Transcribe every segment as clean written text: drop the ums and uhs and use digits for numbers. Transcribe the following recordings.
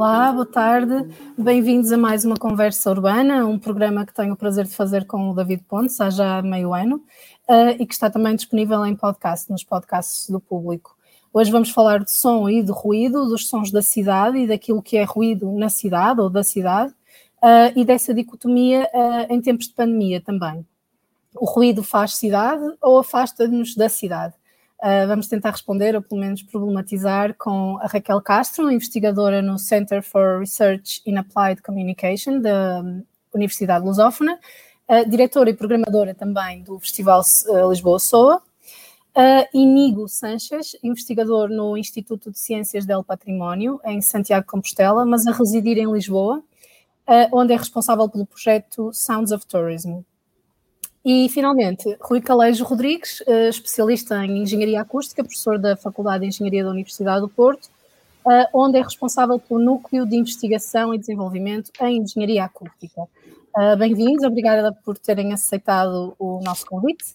Olá, boa tarde. Bem-vindos a mais uma Conversa Urbana, um programa que tenho o prazer de fazer com o David Pontes há já meio ano e que está também disponível em podcast, nos podcasts do público. Hoje vamos falar de som e de ruído, dos sons da cidade e daquilo que é ruído na cidade ou da cidade e dessa dicotomia em tempos de pandemia também. O ruído faz cidade ou afasta-nos da cidade? Vamos tentar responder, ou pelo menos problematizar, com a Raquel Castro, investigadora no Center for Research in Applied Communication da Universidade Lusófona, diretora e programadora também do Festival Lisboa SOA, Inigo Sanches, investigador no Instituto de Ciências del Património, em Santiago de Compostela, mas a residir em Lisboa, onde é responsável pelo projeto Sounds of Tourism. E, finalmente, Rui Calejo Rodrigues, especialista em Engenharia Acústica, professor da Faculdade de Engenharia da Universidade do Porto, onde é responsável pelo Núcleo de Investigação e Desenvolvimento em Engenharia Acústica. Bem-vindos, obrigada por terem aceitado o nosso convite.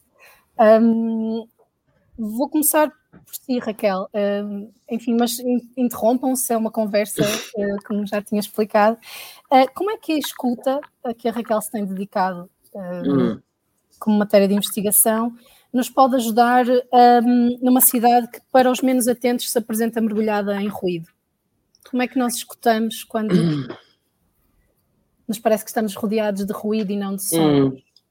Vou começar por si, Raquel, enfim, mas interrompam se é uma conversa, como já tinha explicado. Como é que a escuta a que a Raquel se tem dedicado como matéria de investigação, nos pode ajudar numa cidade que, para os menos atentos, se apresenta mergulhada em ruído? Como é que nós escutamos quando nos parece que estamos rodeados de ruído e não de som?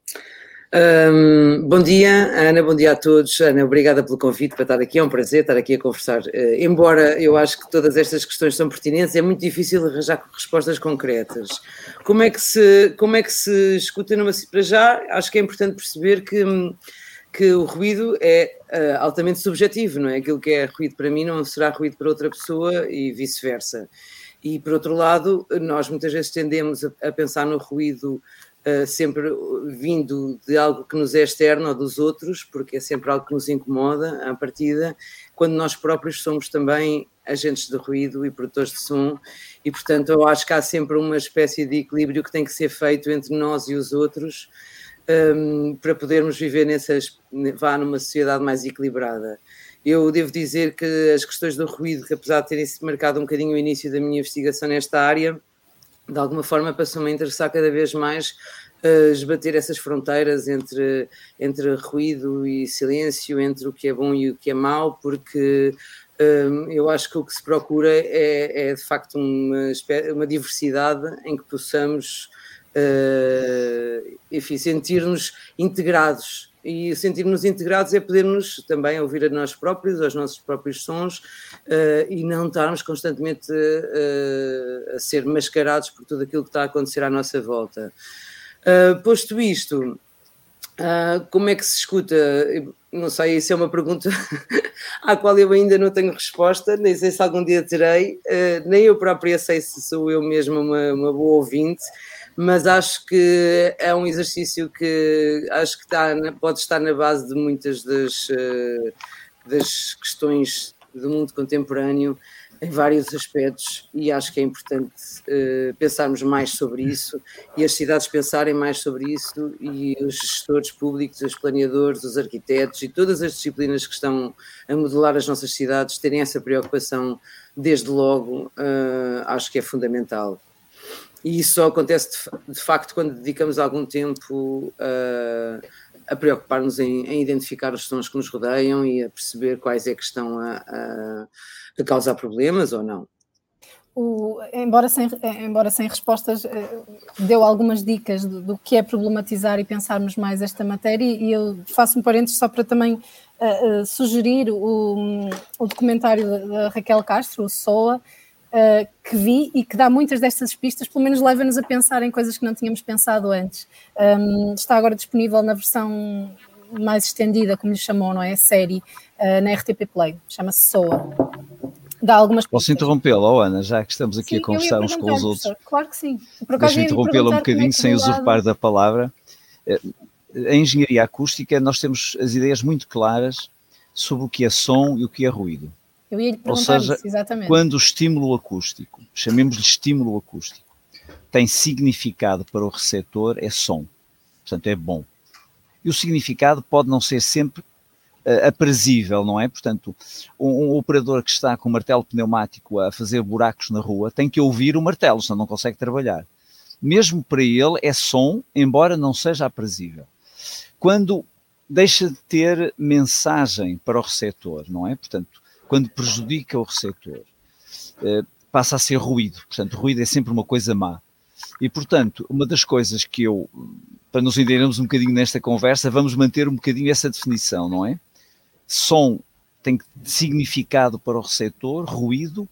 Bom dia, Ana, bom dia a todos. Ana, obrigada pelo convite para estar aqui, é um prazer estar aqui a conversar. Embora eu acho que todas estas questões são pertinentes, é muito difícil arranjar respostas concretas. Como é que se escuta numa... Para já, acho que é importante perceber que o ruído é altamente subjetivo, não é? Aquilo que é ruído para mim não será ruído para outra pessoa e vice-versa. E, por outro lado, nós muitas vezes tendemos a pensar no ruído sempre vindo de algo que nos é externo ou dos outros, porque é sempre algo que nos incomoda à partida, quando nós próprios somos também agentes de ruído e produtores de som, e portanto eu acho que há sempre uma espécie de equilíbrio que tem que ser feito entre nós e os outros para podermos viver numa sociedade mais equilibrada. Eu devo dizer que as questões do ruído, que apesar de terem marcado um bocadinho o início da minha investigação nesta área, de alguma forma passou-me a interessar cada vez mais esbater essas fronteiras entre ruído e silêncio, entre o que é bom e o que é mau, porque eu acho que o que se procura é de facto uma diversidade em que possamos enfim, sentir-nos integrados. E sentir-nos integrados é podermos também ouvir a nós próprios, aos nossos próprios sons e não estarmos constantemente a ser mascarados por tudo aquilo que está a acontecer à nossa volta. Posto isto, como é que se escuta? Não sei, isso é uma pergunta à qual eu ainda não tenho resposta, nem sei se algum dia terei, nem eu própria sei se sou eu mesma uma boa ouvinte, mas acho que é um exercício que acho que pode estar na base de muitas das questões do mundo contemporâneo em vários aspectos, e acho que é importante pensarmos mais sobre isso e as cidades pensarem mais sobre isso, e os gestores públicos, os planeadores, os arquitetos e todas as disciplinas que estão a modelar as nossas cidades terem essa preocupação desde logo. Acho que é fundamental. E isso só acontece de facto quando dedicamos algum tempo a preocupar-nos em identificar os sons que nos rodeiam e a perceber quais é que estão a causar problemas ou não. Embora sem respostas, deu algumas dicas do que é problematizar e pensarmos mais esta matéria, e eu faço um parênteses só para também sugerir o documentário da Raquel Castro, o SOA, que vi e que dá muitas destas pistas, pelo menos leva-nos a pensar em coisas que não tínhamos pensado antes. Está agora disponível na versão mais estendida, como lhe chamou, não é? A série, na RTP Play, chama-se SOA. Dá algumas pistas. Posso interrompê-la, Ana, já que estamos aqui a conversar uns com os outros? Professor. Claro que sim. Deixa-me interrompê-la um bocadinho, sem usurpar da palavra. Em engenharia acústica, nós temos as ideias muito claras sobre o que é som e o que é ruído. Eu ia lhe perguntar isso, exatamente. Quando o estímulo acústico, chamemos-lhe estímulo acústico, tem significado para o receptor, é som. Portanto, é bom. E o significado pode não ser sempre aprazível, não é? Portanto, um operador que está com um martelo pneumático a fazer buracos na rua tem que ouvir o martelo, senão não consegue trabalhar. Mesmo para ele é som, embora não seja aprazível. Quando deixa de ter mensagem para o receptor, não é? Portanto, quando prejudica o receptor, passa a ser ruído. Portanto, ruído é sempre uma coisa má. E, portanto, uma das coisas que para nos entendermos um bocadinho nesta conversa, vamos manter um bocadinho essa definição, não é? Som tem significado para o receptor, ruído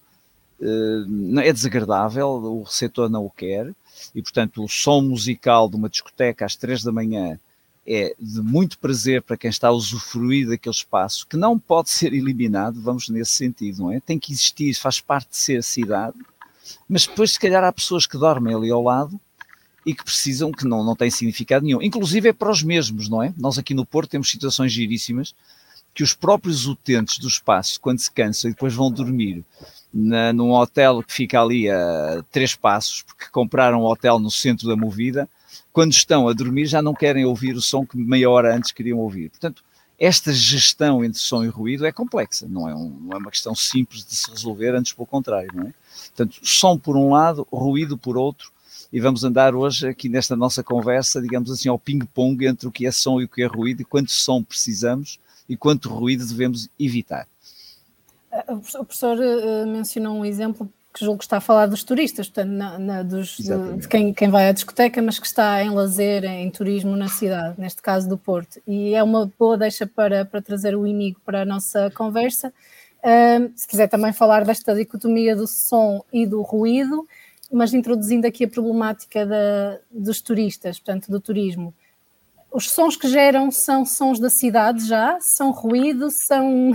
é desagradável, o receptor não o quer, e, portanto, o som musical de uma discoteca às 3 da manhã é de muito prazer para quem está a usufruir daquele espaço, que não pode ser eliminado, vamos nesse sentido, não é? Tem que existir, faz parte de ser a cidade, mas depois, se calhar, há pessoas que dormem ali ao lado e que precisam, que não têm significado nenhum. Inclusive é para os mesmos, não é? Nós aqui no Porto temos situações giríssimas que os próprios utentes do espaço, quando se cansam e depois vão dormir num hotel que fica ali a 3 passos, porque compraram um hotel no centro da Movida, quando estão a dormir já não querem ouvir o som que meia hora antes queriam ouvir. Portanto, esta gestão entre som e ruído é complexa, não é uma questão simples de se resolver, antes pelo contrário, não é? Portanto, som por um lado, ruído por outro, e vamos andar hoje aqui nesta nossa conversa, digamos assim, ao ping-pong entre o que é som e o que é ruído, e quanto som precisamos e quanto ruído devemos evitar. O professor mencionou um exemplo que julgo que está a falar dos turistas, portanto, de quem vai à discoteca, mas que está em lazer, em turismo na cidade, neste caso do Porto. E é uma boa deixa para trazer o Íñigo para a nossa conversa. Se quiser também falar desta dicotomia do som e do ruído, mas introduzindo aqui a problemática dos turistas, portanto, do turismo. Os sons que geram são sons da cidade já? São ruído? São...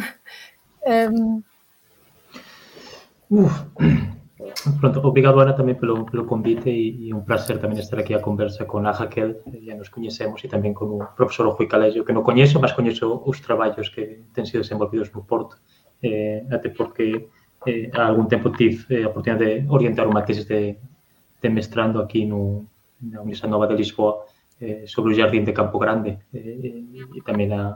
Pronto, obrigado, Ana, também pelo convite e um prazer também estar aqui a conversa com a Raquel, já nos conhecemos, e também com o professor Rui Calégio, que não conheço, mas conheço os trabalhos que têm sido desenvolvidos no Porto, até porque há algum tempo tive a oportunidade de orientar uma tese de mestrando aqui na Universidade Nova de Lisboa sobre o Jardim de Campo Grande e também a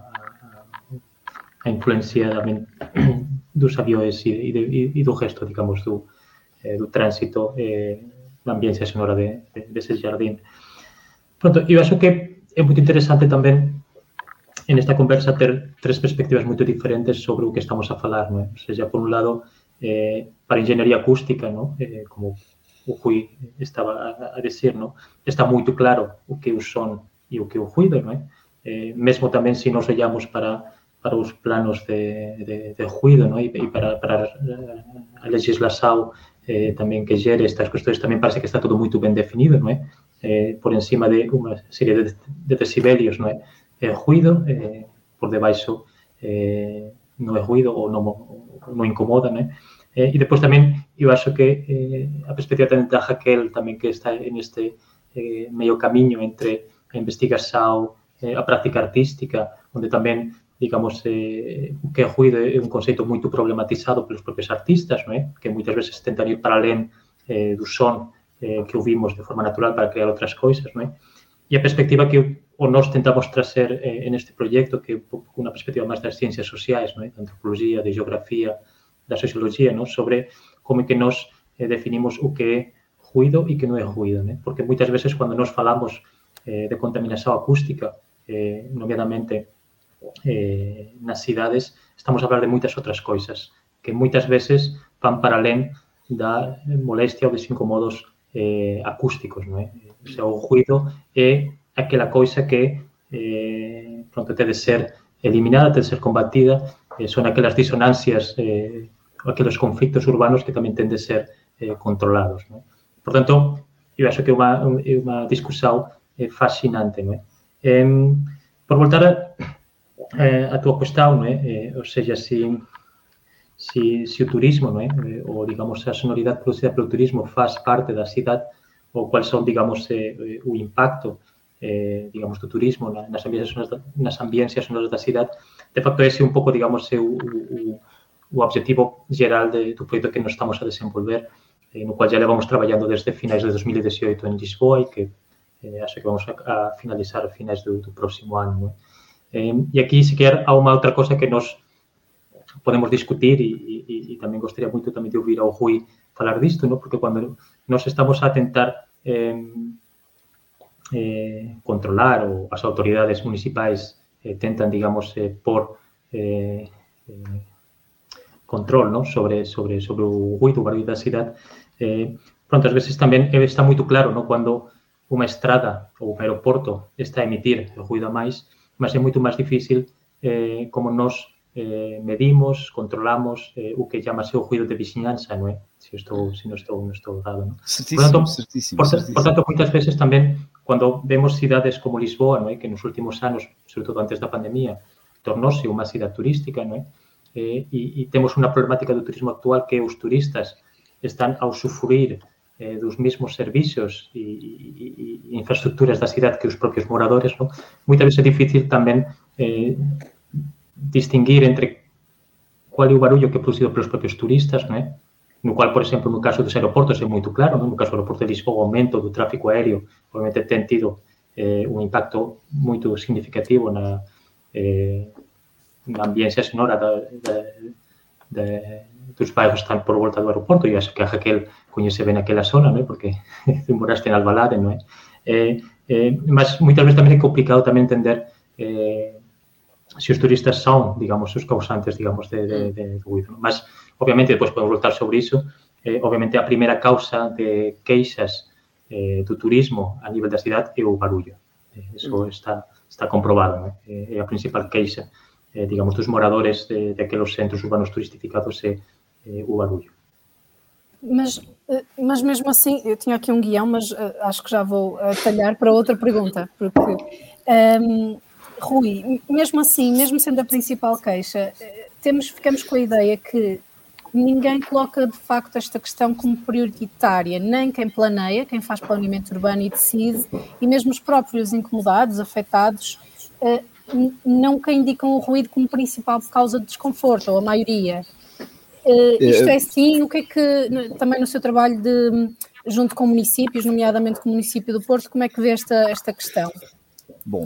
influência também dos aviões e do resto, digamos, do trânsito na ambiência sonora desse jardim. Pronto, eu acho que é muito interessante também nesta conversa ter 3 perspectivas muito diferentes sobre o que estamos a falar, não é? Ou seja, por um lado, para a engenharia acústica, não? Como o Rui estava a dizer, não? Está muito claro o que é o som e o que é o ruído, não é? Mesmo também se nós olhamos para os planos de ruído, não é? E para a legislação também que gere estas questões, também parece que está tudo muito bem definido, não é? Por encima de uma série de decibelios, não é? Ruído, por debaixo não é ruído ou não incomoda, não é? E depois também eu acho que a perspectiva também da Raquel, também que está neste meio caminho entre a investigação, a prática artística, onde também, digamos, o que é ruído é um conceito muito problematizado pelos próprios artistas, não é? Que muitas vezes tentam ir para além do som que ouvimos de forma natural para criar outras coisas, não é? E a perspectiva que nós tentamos trazer neste projeto, que é uma perspectiva mais das ciências sociais, não é? Da antropologia, da geografia, da sociologia, não? Sobre como é que nós definimos o que é ruído e que não é ruído, né? Porque muitas vezes quando nós falamos de contaminação acústica, nomeadamente nas cidades, estamos a falar de muitas outras coisas, que muitas vezes van para além da molestia ou dos incomodos acústicos, não é? O sea, o ruído é aquela coisa que pronto, tem de ser eliminada, tem de ser combatida, son aquelas disonancias, aqueles conflictos urbanos que tamén tenden de ser controlados, non? Por tanto, eu acho que é unha discusión fascinante, non é? Por voltar a tua cuestión, non é? Ou seja, se o turismo, non é? Ou, digamos, a sonoridade producida pelo turismo faz parte da cidade, ou quais son, digamos, o impacto, digamos, do turismo nas ambiências sonoras da cidade. De facto, ese é un pouco, digamos, o objetivo geral do proxecto que nos estamos a desenvolver, no cual já levamos traballando desde finais de 2018 en Lisboa e que acho que vamos a finalizar a finais do próximo ano, non é? E aqui, sequer, há uma outra coisa que nós podemos discutir e também gostaria muito também de ouvir ao Rui falar disto, não? Porque quando nós estamos a tentar controlar, ou as autoridades municipais tentan, digamos, por control, ¿no? sobre o ruído, o barullo da cidade. Pronto, às vezes tamén está moito claro, ¿no? Quando unha estrada ou un aeroporto está a emitir ruído a máis, mas é moito máis difícil como nós medimos, controlamos o que chamase o ruído de vizinhanza, non é? Se non estou dado, non? Certísimo. Por tanto, moitas veces tamén, cando vemos cidades como Lisboa, non é? Que nos últimos anos, sobre todo antes da pandemia, tornouse unha cidade turística, non é? E temos unha problemática do turismo actual que os turistas están a usufruir dos mesmos servicios e infraestructuras da cidade que os propios moradores, non? Moitas veces é difícil tamén distinguir entre qual é o barullo que é producido pelos propios turistas, non é? No cual, por exemplo, no caso dos aeroportos é moito claro, non? No caso do aeroporto de Lisboa, o aumento do tráfico aéreo obviamente ten tido un impacto moito significativo na ambiência sonora dos bairros que están por volta do aeroporto, e acho que a Raquel coñece ben aquela zona, non é? Porque moraste en Alvalade, non é? Mas moitas veces tamén é complicado tamén entender se os turistas son, digamos, os causantes, digamos, de ruído. Mas, obviamente, depois podemos voltar sobre iso. Obviamente, a primeira causa de queixas do turismo a nivel da cidade é o barullo. Eso está comprobado, non é? É a principal queixa, digamos, dos moradores daqueles centros urbanos turistificados é o barullo. Mas mesmo assim, eu tinha aqui um guião, mas acho que já vou talhar para outra pergunta, porque... Rui, mesmo assim, mesmo sendo a principal queixa, ficamos com a ideia que ninguém coloca de facto esta questão como prioritária, nem quem planeia, quem faz planeamento urbano e decide, e mesmo os próprios incomodados, afetados, nunca indicam o ruído como principal causa de desconforto, ou a maioria. Isto é assim, o que é que, também no seu trabalho junto com municípios, nomeadamente com o município do Porto, como é que vê esta questão? Bom...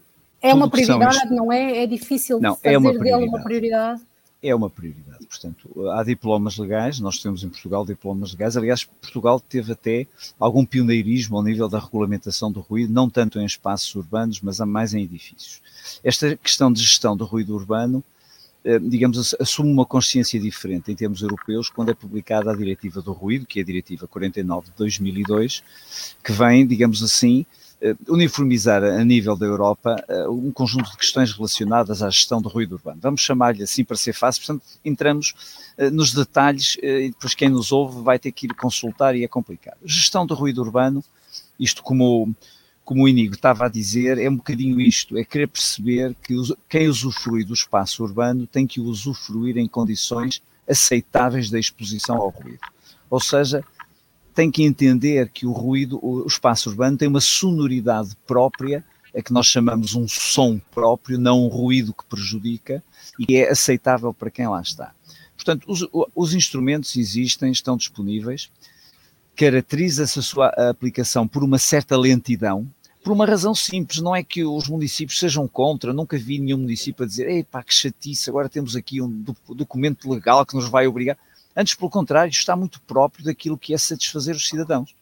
É uma prioridade, não é? É difícil fazer dele uma prioridade? É uma prioridade. Portanto, há diplomas legais, nós temos em Portugal diplomas legais. Aliás, Portugal teve até algum pioneirismo ao nível da regulamentação do ruído, não tanto em espaços urbanos, mas mais em edifícios. Esta questão de gestão do ruído urbano, digamos, assume uma consciência diferente em termos europeus quando é publicada a Diretiva do Ruído, que é a Diretiva 49 de 2002, que vem, digamos assim, uniformizar a nível da Europa um conjunto de questões relacionadas à gestão do ruído urbano. Vamos chamar-lhe assim para ser fácil, portanto, entramos nos detalhes e depois quem nos ouve vai ter que ir consultar e é complicado. Gestão do ruído urbano, isto como o Inigo estava a dizer, é um bocadinho isto, é querer perceber que quem usufrui do espaço urbano tem que o usufruir em condições aceitáveis da exposição ao ruído. Ou seja, tem que entender que o ruído, o espaço urbano tem uma sonoridade própria, a que nós chamamos um som próprio, não um ruído que prejudica, e é aceitável para quem lá está. Portanto, os instrumentos existem, estão disponíveis, caracteriza-se a sua aplicação por uma certa lentidão, por uma razão simples, não é que os municípios sejam contra, nunca vi nenhum município a dizer, epá, que chatice, agora temos aqui um documento legal que nos vai obrigar. Antes, pelo contrário, está muito próprio daquilo que é satisfazer os cidadãos.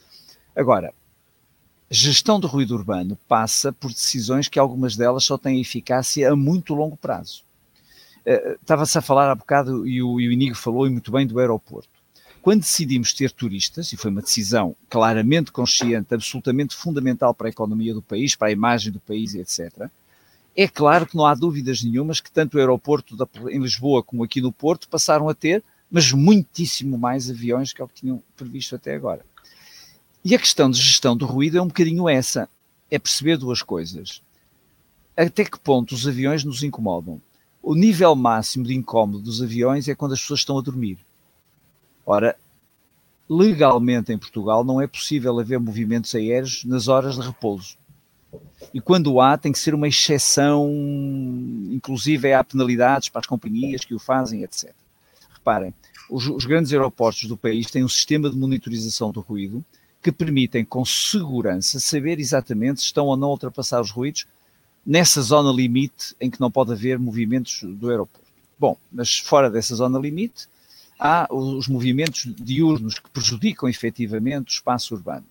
Agora, a gestão do ruído urbano passa por decisões que algumas delas só têm eficácia a muito longo prazo. Estava-se a falar há bocado, e o Inigo falou e muito bem, do aeroporto. Quando decidimos ter turistas, e foi uma decisão claramente consciente, absolutamente fundamental para a economia do país, para a imagem do país, etc., é claro que não há dúvidas nenhumas que tanto o aeroporto em Lisboa como aqui no Porto passaram a ter, mas muitíssimo mais aviões que o que tinham previsto até agora. E a questão de gestão do ruído é um bocadinho essa, é perceber duas coisas. Até que ponto os aviões nos incomodam? O nível máximo de incómodo dos aviões é quando as pessoas estão a dormir. Ora, legalmente em Portugal não é possível haver movimentos aéreos nas horas de repouso. E quando há, tem que ser uma exceção, inclusive há penalidades para as companhias que o fazem, etc. Reparem, os grandes aeroportos do país têm um sistema de monitorização do ruído que permitem com segurança saber exatamente se estão ou não a ultrapassar os ruídos nessa zona limite em que não pode haver movimentos do aeroporto. Bom, mas fora dessa zona limite, há os movimentos diurnos que prejudicam efetivamente o espaço urbano.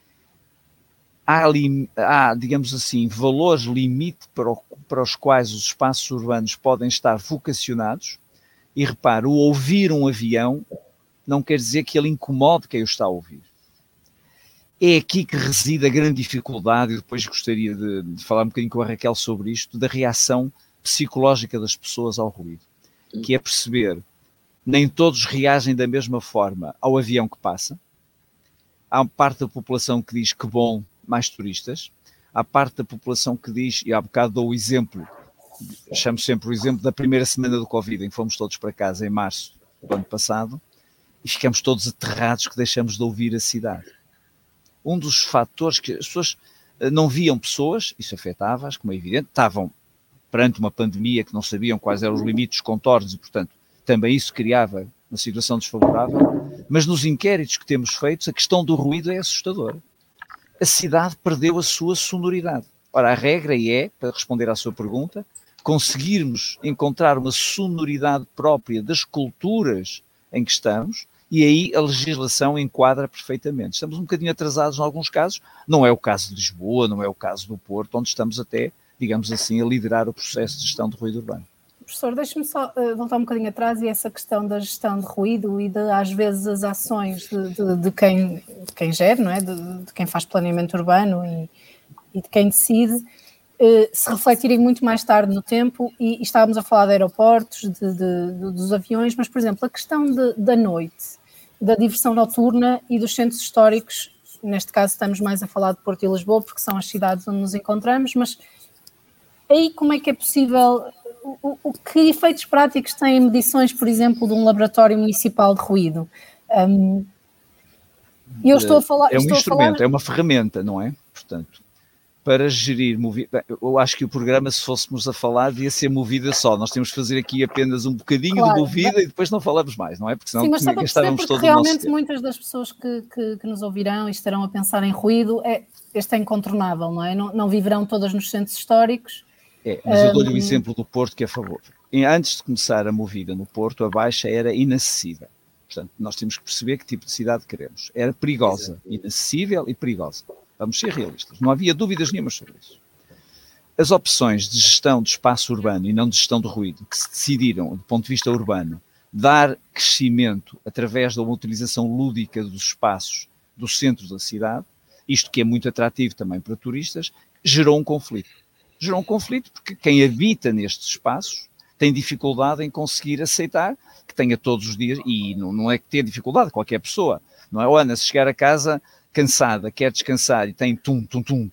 Há, digamos assim, valores limite para os quais os espaços urbanos podem estar vocacionados, e repare, o ouvir um avião não quer dizer que ele incomode quem o está a ouvir. É aqui que reside a grande dificuldade, e depois gostaria de falar um bocadinho com a Raquel sobre isto, da reação psicológica das pessoas ao ruído, que é perceber, nem todos reagem da mesma forma ao avião que passa. Há parte da população que diz que bom, mais turistas. Há parte da população que diz, e há bocado dou o exemplo, chamo sempre o exemplo da primeira semana do Covid, em que fomos todos para casa em março do ano passado, e ficamos todos aterrados que deixamos de ouvir a cidade. Um dos fatores que as pessoas não viam pessoas, isso afetava-as, como é evidente, estavam perante uma pandemia que não sabiam quais eram os limites, os contornos, e portanto também isso criava uma situação desfavorável, mas nos inquéritos que temos feitos a questão do ruído é assustadora. A cidade perdeu a sua sonoridade. Ora, a regra é, para responder à sua pergunta, conseguirmos encontrar uma sonoridade própria das culturas em que estamos, e aí a legislação enquadra perfeitamente. Estamos um bocadinho atrasados em alguns casos, não é o caso de Lisboa, não é o caso do Porto, onde estamos até, digamos assim, a liderar o processo de gestão de ruído urbano. Professor, deixe-me só voltar um bocadinho atrás, e essa questão da gestão de ruído e às vezes as ações de quem gera, não é? De quem faz planeamento urbano e de quem decide, se refletirem muito mais tarde no tempo, e estávamos a falar de aeroportos, dos aviões, mas, por exemplo, a questão da noite, da diversão noturna e dos centros históricos, neste caso estamos mais a falar de Porto e Lisboa, porque são as cidades onde nos encontramos, mas aí como é que é possível, que efeitos práticos têm medições, por exemplo, de um laboratório municipal de ruído? Eu estou a falar... É um instrumento, é uma ferramenta, não é? Portanto, para gerir movida, eu acho que o programa, se fôssemos a falar, devia ser movida só. Nós temos que fazer aqui apenas um bocadinho de movida e depois não falamos mais, não é? Porque senão gastávamos todo o nosso tempo. Realmente muitas das pessoas que nos ouvirão e estarão a pensar em ruído, este é incontornável, não é? Não viverão todas nos centros históricos. Mas eu dou-lhe o exemplo do Porto, que é a favor. Antes de começar a movida no Porto, a Baixa era inacessível. Portanto, nós temos que perceber que tipo de cidade queremos. Era perigosa, inacessível e perigosa. Vamos ser realistas, não havia dúvidas nenhumas sobre isso. As opções de gestão de espaço urbano e não de gestão de ruído, que se decidiram, do ponto de vista urbano, dar crescimento através de uma utilização lúdica dos espaços do centro da cidade, isto que é muito atrativo também para turistas, gerou um conflito. Gerou um conflito porque quem habita nestes espaços tem dificuldade em conseguir aceitar que tenha todos os dias, e não é que tenha dificuldade, qualquer pessoa, não é? Ana, se chegar a casa cansada, quer descansar e tem tum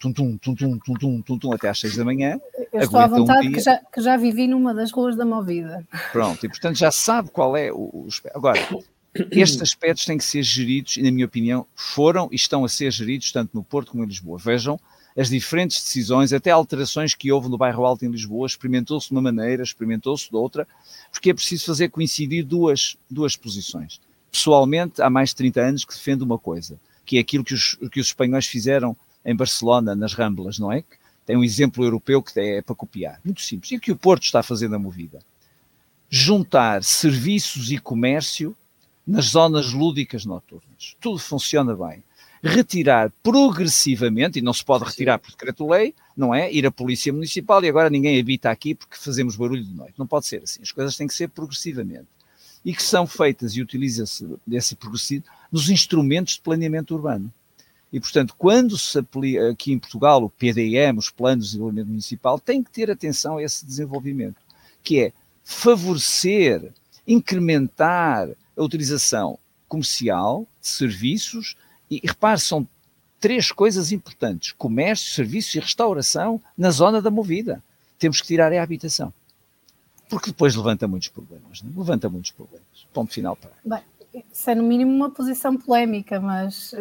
até às 6 da manhã. Eu estou à vontade, que já vivi numa das ruas da Movida. Pronto, e portanto já sabe qual é o aspecto. Agora, estes aspectos têm que ser geridos, e na minha opinião foram e estão a ser geridos tanto no Porto como em Lisboa. Vejam as diferentes decisões, até alterações que houve no Bairro Alto em Lisboa, experimentou-se de uma maneira, experimentou-se de outra, porque é preciso fazer coincidir duas posições. Pessoalmente, há mais de 30 anos que defendo uma coisa, que é aquilo que os espanhóis fizeram em Barcelona, nas Ramblas, não é? Tem um exemplo europeu que é para copiar. Muito simples. E o que o Porto está fazendo a movida? Juntar serviços e comércio nas zonas lúdicas noturnas. Tudo funciona bem. Retirar progressivamente, e não se pode retirar por decreto-lei, não é? Ir à Polícia Municipal e agora ninguém habita aqui porque fazemos barulho de noite. Não pode ser assim. As coisas têm que ser progressivamente. E que são feitas e utiliza-se desse progressivo nos instrumentos de planeamento urbano. E, portanto, quando se aplica aqui em Portugal o PDM, os planos de desenvolvimento municipal, tem que ter atenção a esse desenvolvimento, que é favorecer, incrementar a utilização comercial de serviços, e repare, são 3 coisas importantes: comércio, serviços e restauração na zona da movida. Temos que tirar a habitação. Porque depois levanta muitos problemas, não é? Levanta muitos problemas. Ponto final para. Bem, isso é no mínimo uma posição polémica, mas...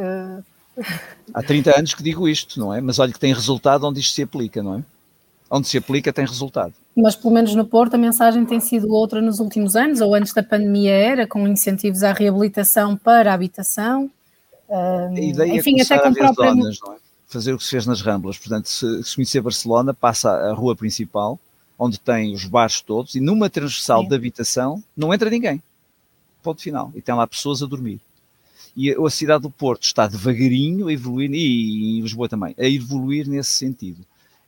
Há 30 anos que digo isto, não é? Mas olha que tem resultado onde isto se aplica, não é? Onde se aplica tem resultado. Mas pelo menos no Porto a mensagem tem sido outra nos últimos anos, ou antes da pandemia era, com incentivos à reabilitação para a habitação. A ideia enfim, é até com a ver zonas, não é? fazer o que se fez nas Ramblas. Portanto, se conhecer Barcelona, passa a rua principal, onde tem os bares todos, e numa transversal de habitação não entra ninguém. Ponto final. E tem lá pessoas a dormir. E a cidade do Porto está devagarinho a evoluir, e Lisboa também, a evoluir nesse sentido.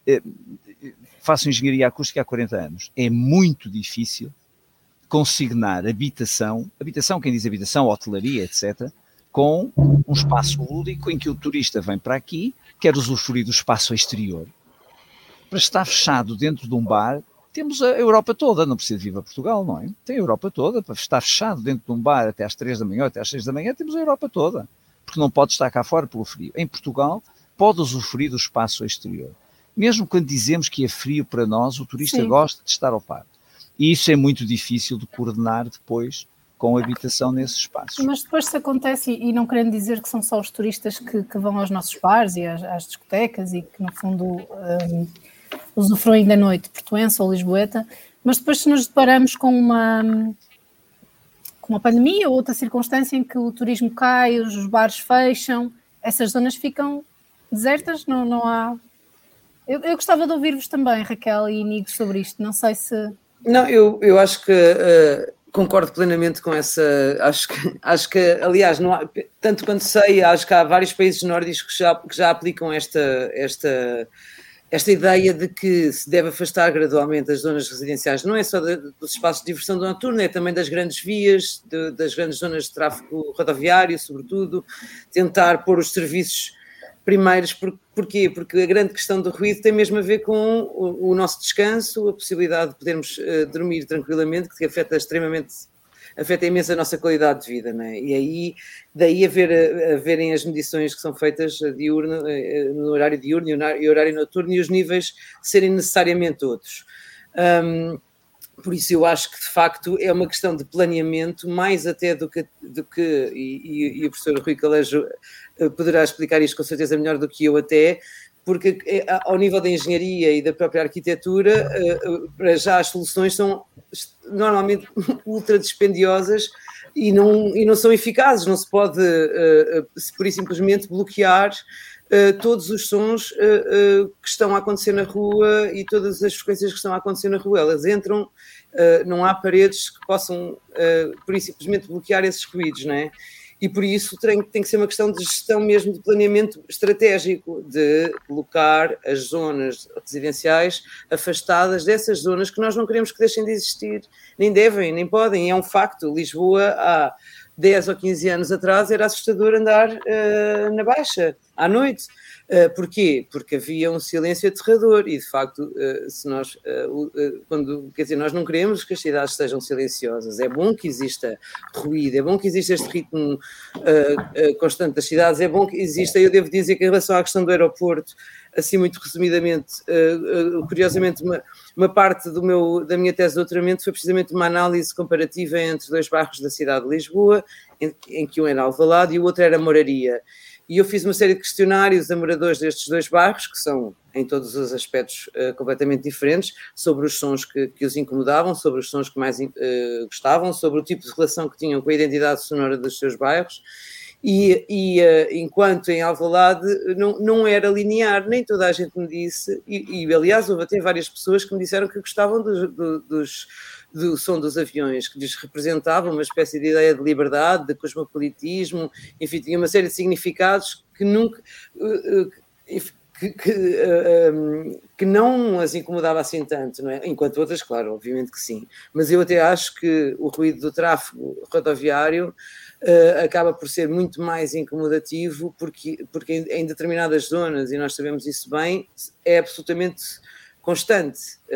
Faço engenharia acústica há 40 anos. É muito difícil consignar habitação, quem diz habitação, hotelaria, etc., com um espaço lúdico em que o turista vem para aqui, quer usufruir do espaço exterior. Para estar fechado dentro de um bar, temos a Europa toda, não precisa vir a Portugal, não é? Tem a Europa toda, para estar fechado dentro de um bar até às 3 da manhã, até às 6 da manhã, temos a Europa toda, porque não pode estar cá fora pelo frio. Em Portugal, pode usufruir do espaço exterior. Mesmo quando dizemos que é frio para nós, o turista gosta de estar ao par. E isso é muito difícil de coordenar depois com a habitação nesses espaços. Mas depois se acontece, e não querendo dizer que são só os turistas que vão aos nossos bares e às discotecas e que no fundo usufruem da noite portuense ou lisboeta, mas depois se nos deparamos com uma pandemia ou outra circunstância em que o turismo cai, os bares fecham, essas zonas ficam desertas, não há... Eu gostava de ouvir-vos também, Raquel e Inigo, sobre isto, não sei se... Não, eu acho que concordo plenamente com essa, acho que aliás, não há, tanto quanto sei, acho que há vários países nórdicos que já aplicam esta ideia de que se deve afastar gradualmente as zonas residenciais, não é só dos espaços de diversão noturna, é também das grandes vias, das grandes zonas de tráfego rodoviário, sobretudo, tentar pôr os serviços primeiros. Porquê? Porque a grande questão do ruído tem mesmo a ver com o nosso descanso, a possibilidade de podermos dormir tranquilamente, que afeta imenso a nossa qualidade de vida, não é? E aí, daí haverem as medições que são feitas no horário diurno e horário noturno, e os níveis serem necessariamente outros. Por isso eu acho que de facto é uma questão de planeamento, mais até do que e o professor Rui Calejo poderá explicar isto com certeza melhor do que eu até, porque ao nível da engenharia e da própria arquitetura, para já as soluções são normalmente ultra dispendiosas e não são eficazes, não se pode por e simplesmente bloquear todos os sons que estão a acontecer na rua e todas as frequências que estão a acontecer na rua. Elas entram, não há paredes que possam por e simplesmente bloquear esses ruídos, não é? E por isso tem que ser uma questão de gestão mesmo, de planeamento estratégico, de colocar as zonas residenciais afastadas dessas zonas que nós não queremos que deixem de existir, nem devem, nem podem. É um facto. Lisboa, há 10 ou 15 anos atrás, era assustador andar na Baixa, à noite. Porquê? Porque havia um silêncio aterrador e, de facto, se nós, nós não queremos que as cidades sejam silenciosas. É bom que exista ruído, é bom que exista este ritmo constante das cidades, é bom que exista. Eu devo dizer que em relação à questão do aeroporto, assim muito resumidamente, curiosamente, uma parte da minha tese de doutoramento foi precisamente uma análise comparativa entre dois bairros da cidade de Lisboa, em que um era Alvalade e o outro era Moraria. E eu fiz uma série de questionários a moradores destes dois bairros, que são, em todos os aspectos, completamente diferentes, sobre os sons que os incomodavam, sobre os sons que mais gostavam, sobre o tipo de relação que tinham com a identidade sonora dos seus bairros. E enquanto em Alvalade não era linear, nem toda a gente me disse, e aliás houve até várias pessoas que me disseram que gostavam do som dos aviões, que lhes representava uma espécie de ideia de liberdade, de cosmopolitismo, enfim, tinha uma série de significados que nunca... que não as incomodava assim tanto, não é? Enquanto outras, claro, obviamente que sim. Mas eu até acho que o ruído do tráfego rodoviário acaba por ser muito mais incomodativo, porque em determinadas zonas, e nós sabemos isso bem, é absolutamente constante,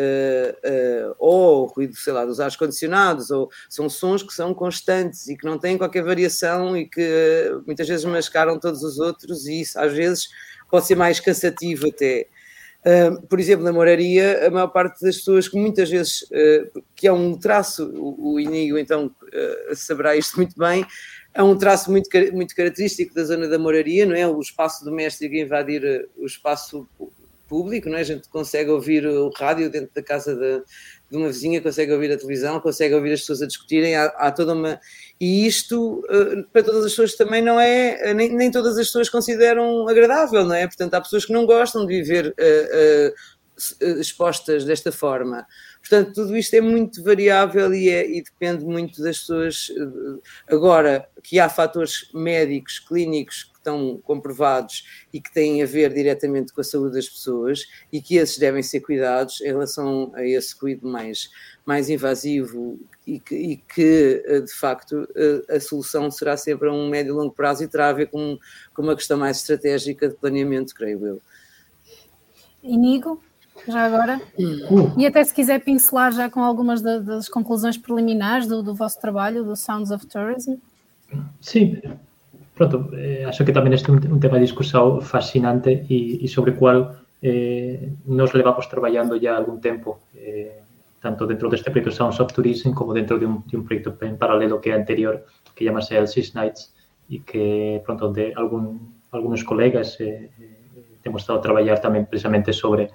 ou o ruído, sei lá, dos ares condicionados, ou são sons que são constantes e que não têm qualquer variação e que muitas vezes mascaram todos os outros, e isso às vezes pode ser mais cansativo até. Por exemplo, na Moraria, a maior parte das pessoas que muitas vezes, que é um traço, o Inigo então saberá isto muito bem, é um traço muito característico da zona da Moraria, não é? O espaço doméstico invadir o espaço público, não é? A gente consegue ouvir o rádio dentro da casa de uma vizinha, consegue ouvir a televisão, consegue ouvir as pessoas a discutirem, há toda uma... E isto, para todas as pessoas também não é... Nem todas as pessoas consideram agradável, não é? Portanto, há pessoas que não gostam de viver expostas desta forma. Portanto, tudo isto é muito variável e depende muito das pessoas. Agora, que há fatores médicos, clínicos, que estão comprovados e que têm a ver diretamente com a saúde das pessoas e que esses devem ser cuidados em relação a esse cuidado mais invasivo e que, de facto, a solução será sempre a um médio e longo prazo e terá a ver com uma questão mais estratégica de planeamento, creio eu. Inigo? Já agora? E até se quiser pincelar já com algumas das conclusões preliminares do vosso trabalho, do Sounds of Tourism. Sí, pronto, acho que tamén este é un tema de discusión fascinante e sobre o cual nos levamos traballando ya algún tempo, tanto dentro deste proxecto Sounds of Tourism como dentro de un proxecto en paralelo que é anterior, que chamase Elsie's Nights, e que, pronto, onde algunos colegas temos estado a traballar tamén precisamente sobre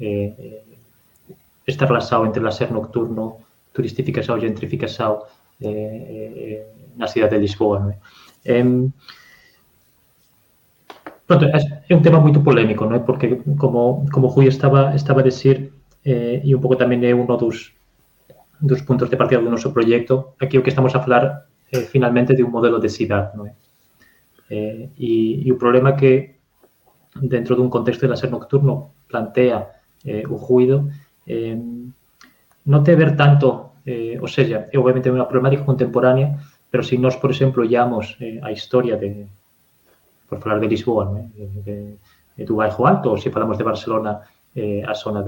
esta relación entre laser nocturno, turistificación e gentrificación na cidade de Lisboa. Non é? Pronto, é un tema moito polémico, non é? Porque, como Rui estaba a decir, e un pouco tamén é uno dos puntos de partida do noso proxecto, aquí o que estamos a falar finalmente de un modelo de cidade, non é? E o problema que dentro dun contexto de laser nocturno plantea o ruido non te ver tanto, ou seja, é obviamente unha problemática contemporánea, pero se nós, por exemplo, ollamos a historia por falar de Lisboa, non é? Do Baixo Alto, ou se falamos de Barcelona, a zona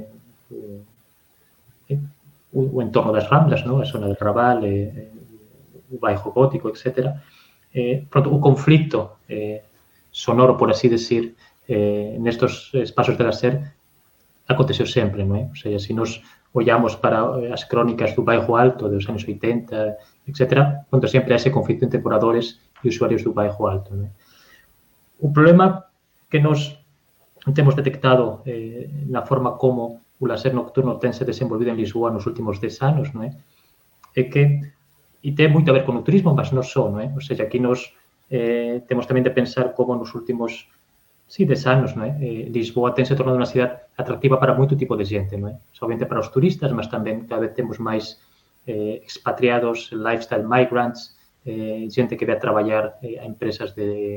o entorno das Ramblas, non? A zona do Raval, o Baixo Gótico, etc. Pronto, o conflicto sonoro, por así decir, nestos espaços de laser aconteceu sempre, non é? Ou seja, se nos ollamos para as crónicas do Baixo Alto dos anos 80, etc., onde sempre hai ese conflito entre moradores e usuarios do Baixo Alto, non é? O problema que nos temos detectado na forma como o laser nocturno tense desenvolvido en Lisboa nos últimos 10 anos, non é? É que, e ten moito a ver con o turismo, mas non só, non é? Ou seja, aquí nos temos tamén de pensar como nos últimos 10 anos, non é? Lisboa tense tornado unha cidade atractiva para moito tipo de xente, non é? Somente para os turistas, mas tamén cada vez temos máis expatriados, lifestyle migrants, xente que ve a traballar a empresas de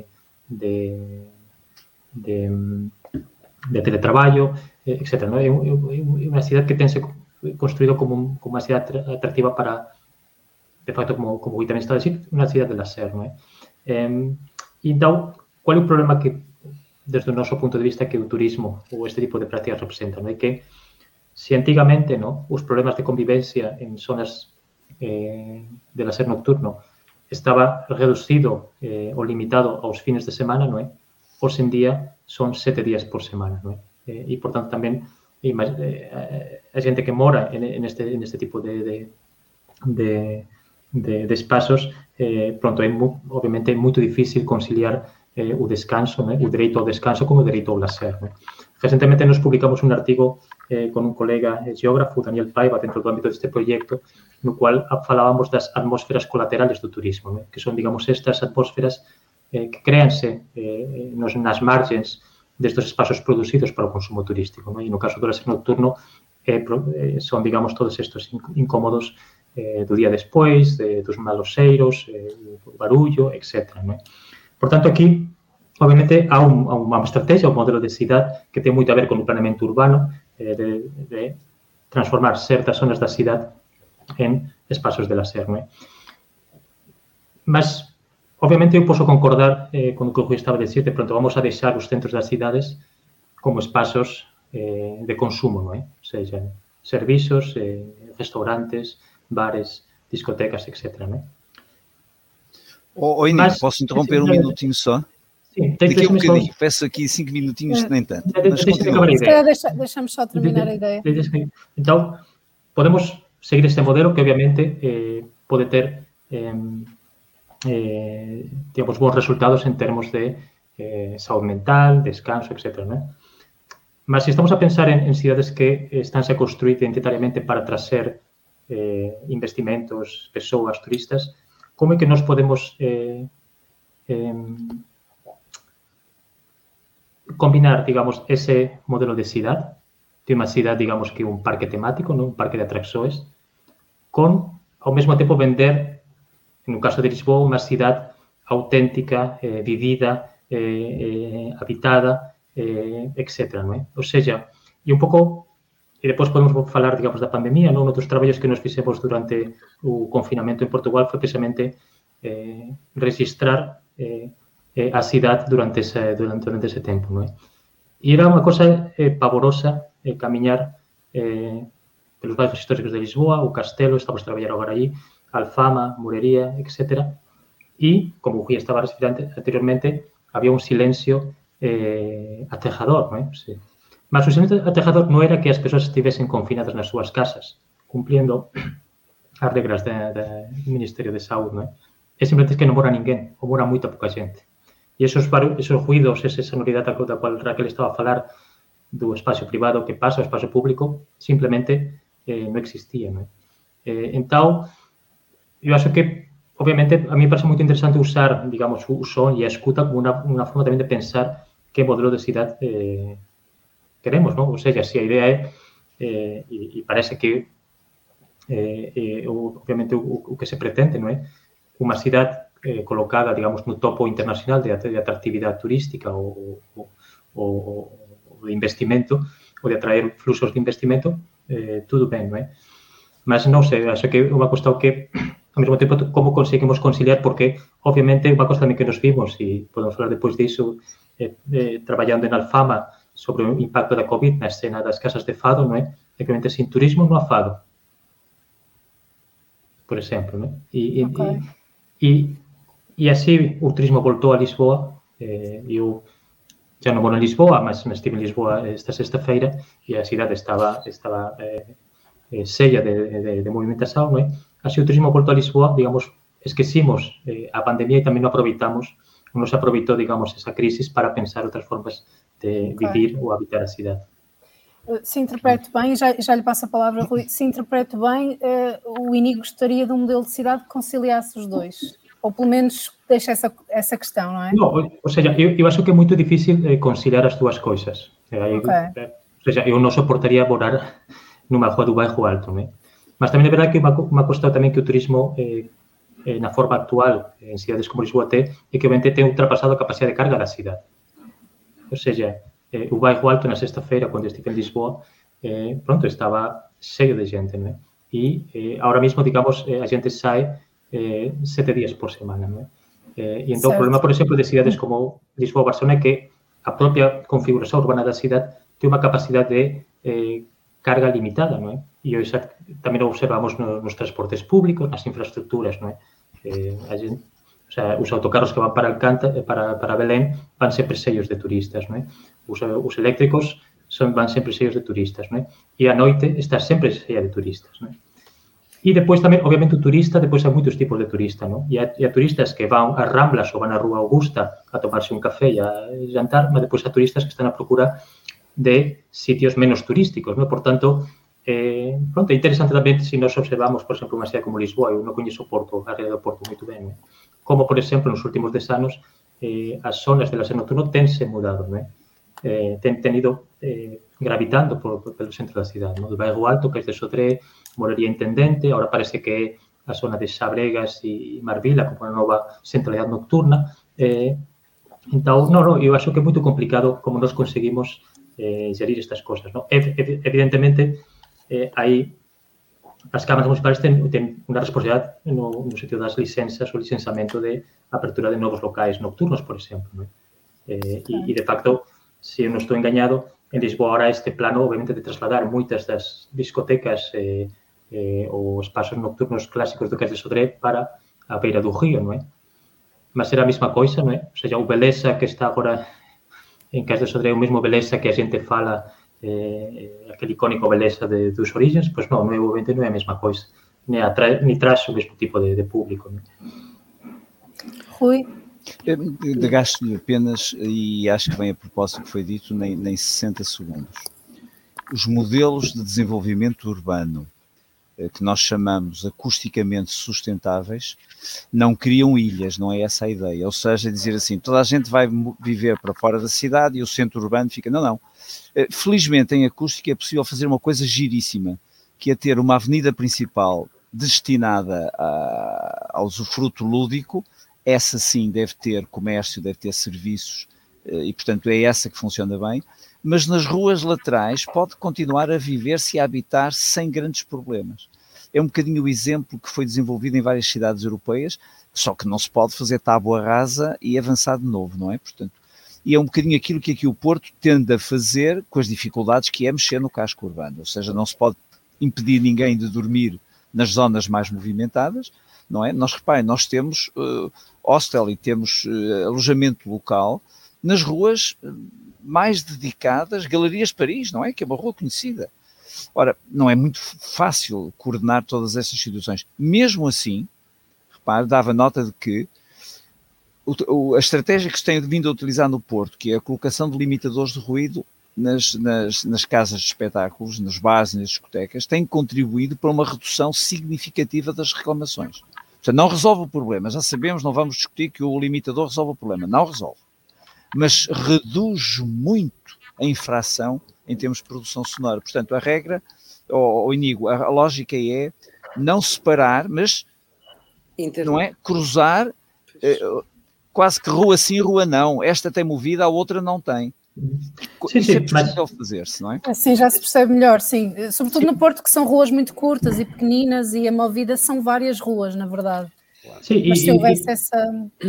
teletraballo, etc. Non é? É unha cidade que tense construído como unha cidade atractiva para, de facto, como tamén está a decir, unha cidade de laser, non é? Então, qual é o problema que desde o noso punto de vista que o turismo ou este tipo de prácticas representan? É que se antigamente os problemas de convivencia en zonas de laser nocturno estaba reducido ou limitado aos fines de semana, non é? Hoxe en día son 7 días por semana, non é? E, por tanto, tamén a xente que mora en este tipo de espazos, pronto, obviamente é moito difícil conciliar o descanso, o dereito ao descanso como o dereito ao laser. Recentemente nos publicamos un artigo con un colega geógrafo, Daniel Paiva, dentro do ámbito deste proxecto, no cual falábamos das atmósferas colaterales do turismo, que son, digamos, estas atmósferas que créanse nas margens destes espazos producidos para o consumo turístico. E no caso do laser nocturno son, digamos, todos estes incómodos do día despois, dos maloseiros, do barullo, etc. Por tanto, aquí, obviamente, há unha estrategia, un modelo de cidade que ten moito a ver con o planeamento urbano, de transformar certas zonas da cidade en espazos de laser. Mas, obviamente, eu posso concordar con o que o Rui estaba a decir, de pronto vamos a deixar os centros das cidades como espazos de consumo, non é? Ou seja, servizos, restaurantes, bares, discotecas, etc. Inigo, posso interromper um minutinho só? Sim, daqui a um bocadinho. Peço aqui 5 minutinhos, nem tanto. Mas continua. Deixa-me só terminar a ideia. Então, podemos seguir este modelo que, obviamente, pode ter digamos, bons resultados en termos de saúde mental, descanso, etc. Mas se estamos a pensar en cidades que estánse a construir identitariamente para trazer investimentos, persoas, turistas, como é que nós podemos combinar, digamos, ese modelo de cidade, de unha cidade, digamos, que un parque temático, non? Un parque de atraccións, con, ao mesmo tempo, vender, no caso de Lisboa, unha cidade auténtica, vivida, habitada, etc. Non é? Ou seja, e un pouco, e depois podemos falar, digamos, da pandemia, non? Outros traballos que nos fixemos durante o confinamento en Portugal foi precisamente registrar a cidade durante ese tempo, non é? E era unha cosa pavorosa camiñar pelos bairros históricos de Lisboa, o Castelo, estamos a traballar agora aí, Alfama, Morería, etc. E, como o Gui estaba referindo anteriormente, había un silencio aterrador, non é? Sí. Mas o silencio aterrador non era que as persoas estivesen confinadas nas súas casas, cumpliendo as regras do Ministerio de Saúde, non é? É simplemente que non mora ninguén, ou mora moita pouca xente. E esos ruidos, esa sonoridade da cual Raquel estaba a falar, do espacio privado que pasa ao espacio público, simplemente non existía, non é? Entón, eu acho que, obviamente, a mí me parece moito interesante usar, digamos, o son e a escuta como unha forma tamén de pensar que modelo de cidade queremos, non? Ou seja, se a idea é, e parece que, obviamente, o que se pretende, non é? Unha cidade colocada, digamos, no topo internacional de atractividade turística ou de investimento, ou de atraer fluxos de investimento, tudo ben, non é? Mas non sei, acho que é unha cuestión que, ao mesmo tempo, como conseguimos conciliar, porque, obviamente, unha cosa tamén que nos vimos, e podemos falar depois disso, traballando en Alfama sobre o impacto da COVID na escena das casas de fado, non é? E que, obviamente, sin turismo non há fado, por exemplo, non é? E así o turismo voltou a Lisboa. Eu já non moro en Lisboa, mas estive en Lisboa esta sexta-feira e a cidade estaba sella de movimentación, non é? Así o turismo voltou a Lisboa, digamos, esquecimos a pandemia e tamén non aproveitamos, non se aproveitou, digamos, esa crisis para pensar outras formas de vivir ou habitar a cidade. Se interpreto bem, já lhe passo a palavra, Rui, se interpreto bem, o INI gostaria de um modelo de cidade que conciliasse os dois. Ou pelo menos deixa essa questão, não é? Não, ou seja, eu acho que é muito difícil conciliar as duas coisas. Ou seja, eu não suportaria morar numa rua do bairro Alto, não é? Mas também é verdade que uma questão também que o turismo, na forma atual, em cidades como Lisboa tem, é que obviamente tem ultrapassado a capacidade de carga da cidade. Ou seja, o bairro Alto na sexta-feira, quando estive em Lisboa, pronto, estava cheio de gente, não é? E agora mesmo, digamos, a gente sai 7 días por semana, non é? E entón, o problema, por exemplo, de cidades como Lisboa ou Barcelona é que a propia configuración urbana da cidade ten unha capacidade de carga limitada, non é? E hoxe tamén o observamos nos transportes públicos, nas infraestructuras, non é? O sea, os autocarros que van para Alcántara, para Belén, van sempre sellos de turistas, non é? Os eléctricos van sempre sellos de turistas, non é? E a noite está sempre sella de turistas, non é? E depois tamén, obviamente, o turista, depois hai moitos tipos de turista, non? E hai turistas que van ás Ramblas ou van á Rúa Augusta a tomarse un café e a jantar, mas depois hai turistas que están a procura de sitios menos turísticos, non? Por tanto, pronto, é interesante tamén se nós observamos, por exemplo, unha cidade como Lisboa, eu non coñezo o Porto, a área do Porto moito ben, non? Como, por exemplo, nos últimos 10 anos, as zonas de lazer nocturno tense mudado, non? Ten ido gravitando pelo centro da cidade, non? Do bairro Alto, que é de Sodré, Morería Intendente, agora parece que é a zona de Xabregas e Marvila, como a nova centralidade nocturna. Entón, eu acho que é moito complicado como nós conseguimos gerir estas cosas, non? Evidentemente, aí as cámaras municipais ten unha responsabilidade no sentido das licenzas ou licenciamento de apertura de novos locais nocturnos, por exemplo, non? E, de facto, se eu non estou engañado, en Lisboa ahora este plano, obviamente, de trasladar moitas das discotecas ou espaços nocturnos clásicos do Cais de Sodré para a beira do río, non é? Mas era a mesma coisa, non é? Ou seja, o Beleza que está agora en Cais de Sodré, o mesmo Beleza que a xente fala, aquele icónico Beleza dos Orígenes, pois non, obviamente non é a mesma coisa, ni traz o mesmo tipo de público, non é? Rui? Gasto-lhe apenas, e acho que vem a propósito do que foi dito, nem 60 segundos. Os modelos de desenvolvimento urbano, que nós chamamos acusticamente sustentáveis, não criam ilhas, não é essa a ideia. Ou seja, dizer assim, toda a gente vai viver para fora da cidade e o centro urbano fica... Não. Felizmente, em acústica é possível fazer uma coisa giríssima, que é ter uma avenida principal destinada ao usufruto lúdico. Essa sim deve ter comércio, deve ter serviços, e portanto é essa que funciona bem, mas nas ruas laterais pode continuar a viver-se e a habitar sem grandes problemas. É um bocadinho o exemplo que foi desenvolvido em várias cidades europeias, só que não se pode fazer tábua rasa e avançar de novo, não é? Portanto, e é um bocadinho aquilo que aqui o Porto tende a fazer com as dificuldades que é mexer no casco urbano, ou seja, não se pode impedir ninguém de dormir nas zonas mais movimentadas, não é? Reparem, nós temos hostel e temos alojamento local nas ruas mais dedicadas, Galerias Paris, não é? Que é uma rua conhecida. Ora, não é muito fácil coordenar todas essas situações. Mesmo assim, repare, dava nota de que a estratégia que se tem vindo a utilizar no Porto, que é a colocação de limitadores de ruído nas casas de espetáculos, nos bares e nas discotecas, tem contribuído para uma redução significativa das reclamações. Portanto, não resolve o problema, já sabemos, não vamos discutir que o limitador resolve o problema, não resolve. Mas reduz muito a infração em termos de produção sonora. Portanto, a regra, ou Inigo, a lógica é não separar, mas não é cruzar, quase que rua sim, rua não. Esta tem movida, a outra não tem. Isso é possível fazer-se, não é? Assim já se percebe melhor, sim. Sobretudo no Porto, que são ruas muito curtas e pequeninas, e a movida são várias ruas, na verdade. Sí, mas se houvesse essa...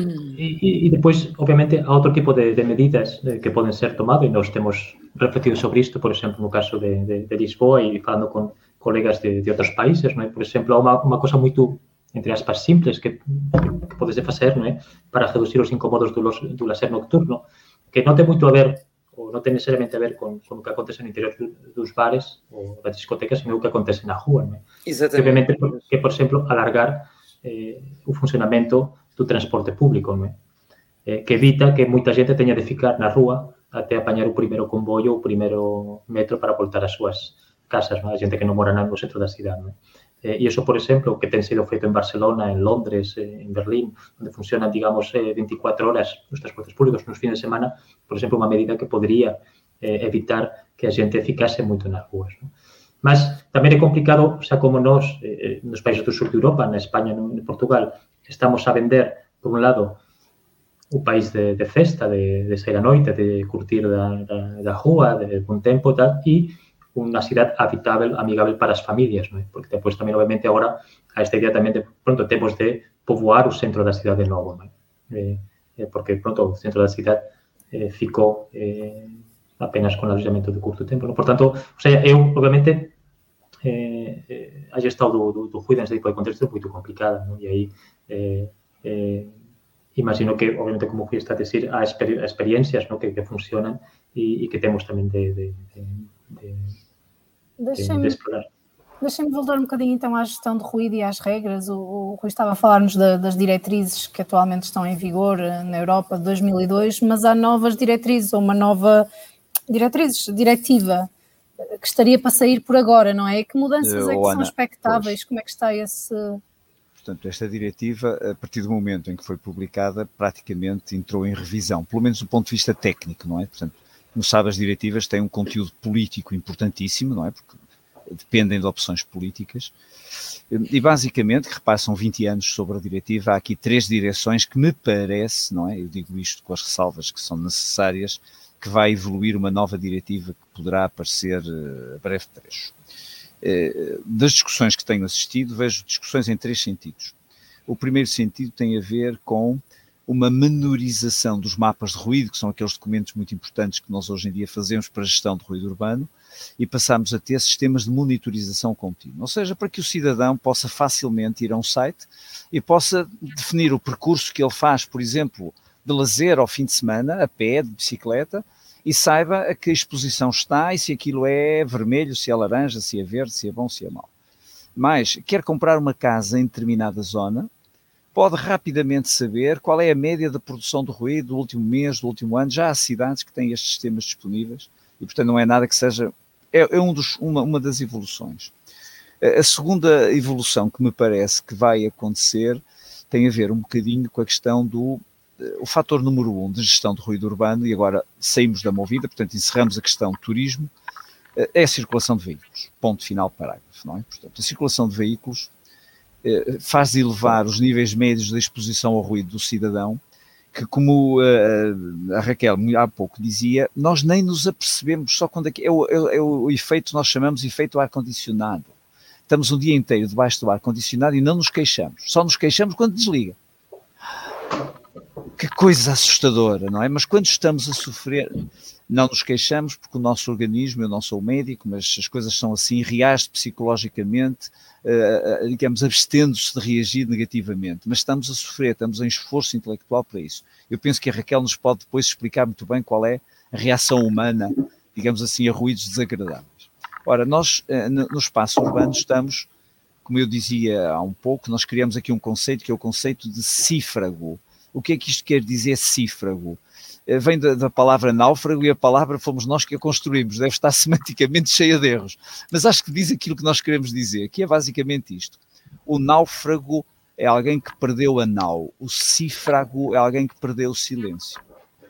E depois, obviamente, há outro tipo de medidas que podem ser tomadas, e nós temos refletido sobre isto, por exemplo, no caso de Lisboa, e falando com colegas de outros países, não é? Por exemplo, há uma coisa muito, entre aspas, simples que podes fazer, não é? Para reduzir os incómodos do lazer nocturno, que não tem muito a ver, ou não tem necessariamente a ver com o que acontece no interior dos bares ou das discotecas, sino o que acontece na rua, não é? Exatamente. Obviamente, que, por exemplo, alargar o funcionamento do transporte público, não é? Que evita que muita gente tenha de ficar na rua até apanhar o primeiro comboio, o primeiro metro para voltar às suas casas, não é? A gente que não mora no centro da cidade, não é? E isso, por exemplo, que tem sido feito en Barcelona, en Londres, en Berlín, onde funcionan, digamos, 24 horas os transportes públicos nos fines de semana, por exemplo, unha medida que podría evitar que a xente ficase moito nas ruas, non? Mas tamén é complicado, xa como nós, nos países do sur de Europa, na España, en Portugal, estamos a vender, por un lado, o país de festa, de sair a noite, de curtir da rúa, de bom tempo e tal, e unha cidade habitável, amigável para as familias, non é? Porque depois tamén, obviamente, agora a esta idea tamén de, pronto, temos de poboar o centro da cidade de novo, non é? Porque, pronto, o centro da cidade ficou apenas con alojamento de curto tempo, non? Por tanto, o sea, eu, obviamente, a gestão do ruído nesse tipo de contexto é muito complicada, non? E aí imagino que, obviamente, como fui a decir, há experiencias, non? Que funcionan e que temos tamén de explorar. Deixem-me voltar um bocadinho então à gestão de ruído e às regras. O Rui estava a falar-nos das diretrizes que atualmente estão em vigor na Europa de 2002, mas há novas diretrizes, ou uma nova diretiva que estaria para sair por agora, não é? Que mudanças é que são expectáveis? Como é que está esse... Portanto, esta diretiva, a partir do momento em que foi publicada, praticamente entrou em revisão, pelo menos do ponto de vista técnico, não é? Portanto, como sabe, as diretivas têm um conteúdo político importantíssimo, não é? Porque dependem de opções políticas. E basicamente, que repassam 20 anos sobre a diretiva, há aqui 3 direções que me parece, não é? Eu digo isto com as ressalvas que são necessárias, que vai evoluir uma nova diretiva que poderá aparecer a breve trecho. Das discussões que tenho assistido, vejo discussões em 3 sentidos. O primeiro sentido tem a ver com uma menorização dos mapas de ruído, que são aqueles documentos muito importantes que nós hoje em dia fazemos para a gestão de ruído urbano, e passamos a ter sistemas de monitorização contínua, ou seja, para que o cidadão possa facilmente ir a um site e possa definir o percurso que ele faz, por exemplo, de lazer ao fim de semana, a pé, de bicicleta, e saiba a que exposição está e se aquilo é vermelho, se é laranja, se é verde, se é bom, se é mau. Mas, quer comprar uma casa em determinada zona, pode rapidamente saber qual é a média da produção de ruído do último mês, do último ano. Já há cidades que têm estes sistemas disponíveis e, portanto, não é nada que seja... uma das evoluções. A segunda evolução que me parece que vai acontecer tem a ver um bocadinho com a questão do o fator número 1 de gestão de ruído urbano, e agora saímos da Movida, portanto encerramos a questão do turismo, é a circulação de veículos. Ponto final, parágrafo, não é? Portanto, a circulação de veículos faz elevar os níveis médios da exposição ao ruído do cidadão, que, como a Raquel há pouco dizia, nós nem nos apercebemos, só quando é o efeito, nós chamamos de efeito ar-condicionado. Estamos um dia inteiro debaixo do ar-condicionado e não nos queixamos, só nos queixamos quando desliga. Que coisa assustadora, não é? Mas quando estamos a sofrer, não nos queixamos porque o nosso organismo, eu não sou médico, mas as coisas são assim, reage psicologicamente, digamos, abstendo-se de reagir negativamente, mas estamos a sofrer, estamos em esforço intelectual para isso. Eu penso que a Raquel nos pode depois explicar muito bem qual é a reação humana, digamos assim, a ruídos desagradáveis. Ora, nós no espaço urbano estamos, como eu dizia há um pouco, nós criamos aqui um conceito que é o conceito de cífrago. O que é que isto quer dizer, cífrago? Vem da palavra náufrago e a palavra fomos nós que a construímos, deve estar semanticamente cheia de erros, mas acho que diz aquilo que nós queremos dizer, que é basicamente isto. O náufrago é alguém que perdeu a nau, o cífrago é alguém que perdeu o silêncio.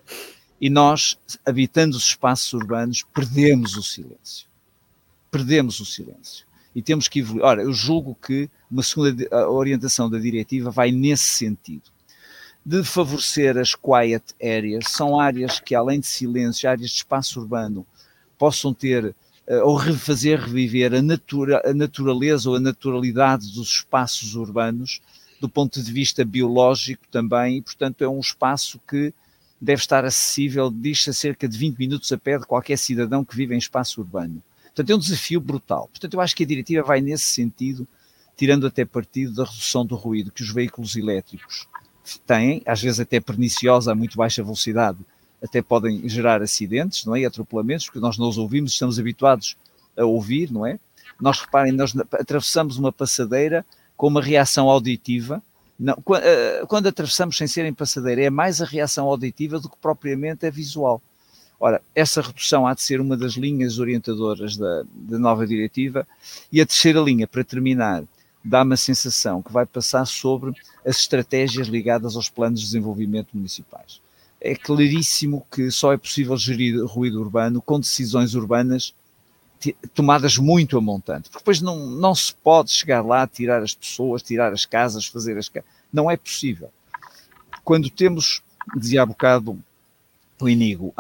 E nós, habitando os espaços urbanos, perdemos o silêncio. Perdemos o silêncio. E temos que evoluir. Ora, eu julgo que uma segunda orientação da diretiva vai nesse sentido, de favorecer as quiet areas, são áreas que, além de silêncio, áreas de espaço urbano, possam ter ou reviver a naturaleza ou a naturalidade dos espaços urbanos, do ponto de vista biológico também, e, portanto, é um espaço que deve estar acessível, diz-se, a cerca de 20 minutos a pé de qualquer cidadão que vive em espaço urbano. Portanto, é um desafio brutal. Portanto, eu acho que a diretiva vai nesse sentido, tirando até partido da redução do ruído que os veículos elétricos têm, às vezes até perniciosa, a muito baixa velocidade, até podem gerar acidentes, não é? E atropelamentos, porque nós não os ouvimos, estamos habituados a ouvir, não é? Nós, reparem, nós atravessamos uma passadeira com uma reação auditiva. Não, quando atravessamos sem ser em passadeira, é mais a reação auditiva do que propriamente a visual. Ora, essa redução há de ser uma das linhas orientadoras da nova diretiva. E a terceira linha, para terminar, dá-me a sensação que vai passar sobre as estratégias ligadas aos planos de desenvolvimento municipais. É claríssimo que só é possível gerir ruído urbano com decisões urbanas tomadas muito a montante, porque depois não se pode chegar lá, tirar as pessoas, tirar as casas, fazer as casas. Não é possível. Quando temos, dizia há bocado o Inigo,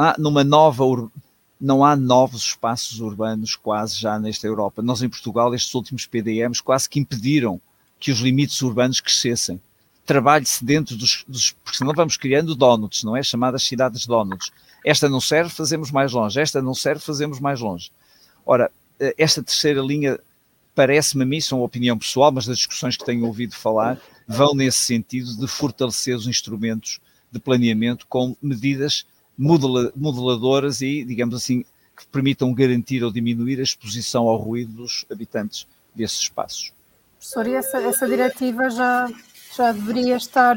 não há novos espaços urbanos quase já nesta Europa. Nós em Portugal, estes últimos PDMs quase que impediram que os limites urbanos crescessem. Trabalhe-se dentro porque senão vamos criando donuts, não é? Chamadas cidades donuts. Esta não serve, fazemos mais longe. Esta não serve, fazemos mais longe. Ora, esta terceira linha parece-me a mim, são uma opinião pessoal, mas das discussões que tenho ouvido falar, vão nesse sentido de fortalecer os instrumentos de planeamento com medidas modeladoras e, digamos assim, que permitam garantir ou diminuir a exposição ao ruído dos habitantes desses espaços. Professor, e essa diretiva já deveria estar,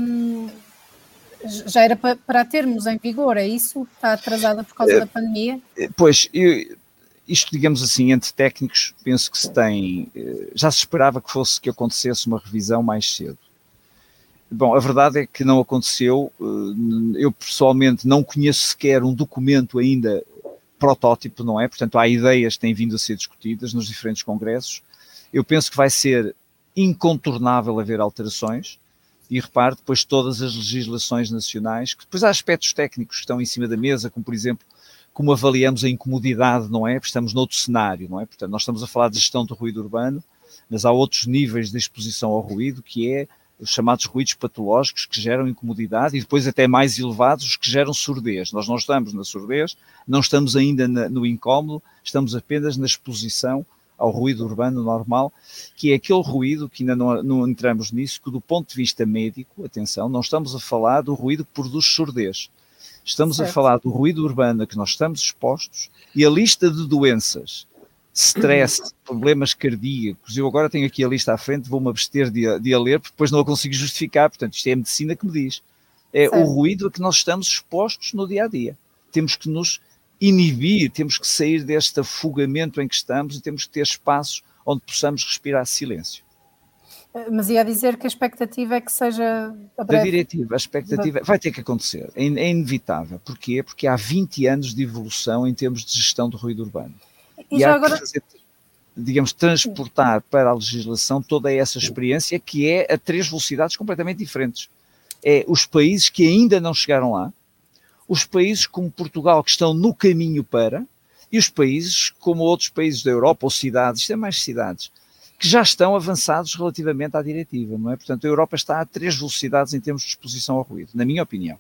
já era para termos em vigor, é isso? Está atrasada por causa da pandemia? Pois, isto, digamos assim, entre técnicos, penso que já se esperava que acontecesse uma revisão mais cedo. Bom, a verdade é que não aconteceu. Eu pessoalmente não conheço sequer um documento ainda protótipo, não é? Portanto, há ideias que têm vindo a ser discutidas nos diferentes congressos. Eu penso que vai ser incontornável haver alterações e repare depois todas as legislações nacionais, que depois há aspectos técnicos que estão em cima da mesa, como por exemplo, como avaliamos a incomodidade, não é? Porque estamos noutro cenário, não é? Portanto, nós estamos a falar de gestão do ruído urbano, mas há outros níveis de exposição ao ruído, que é os chamados ruídos patológicos que geram incomodidade e depois até mais elevados os que geram surdez. Nós não estamos na surdez, não estamos ainda no incómodo, estamos apenas na exposição ao ruído urbano normal, que é aquele ruído que ainda não entramos nisso, que do ponto de vista médico, atenção, não estamos a falar do ruído que produz surdez. Estamos a falar do ruído urbano a que nós estamos expostos e a lista de doenças stress, problemas cardíacos. Eu agora tenho aqui a lista à frente, vou-me abster de a ler, porque depois não a consigo justificar. Portanto, isto é a medicina que me diz. É o ruído a que nós estamos expostos no dia-a-dia. Temos que nos inibir, temos que sair deste afogamento em que estamos e temos que ter espaços onde possamos respirar silêncio. Mas ia dizer que a expectativa é que seja a breve. Da diretiva, a expectativa vai ter que acontecer, é inevitável. Porquê? Porque há 20 anos de evolução em termos de gestão do ruído urbano. E há que fazer, digamos, transportar para a legislação toda essa experiência que é a 3 velocidades completamente diferentes. É os países que ainda não chegaram lá, os países como Portugal que estão no caminho para, e os países como outros países da Europa, ou cidades, isto é mais cidades, que já estão avançados relativamente à diretiva, não é? Portanto, a Europa está a 3 velocidades em termos de exposição ao ruído, na minha opinião.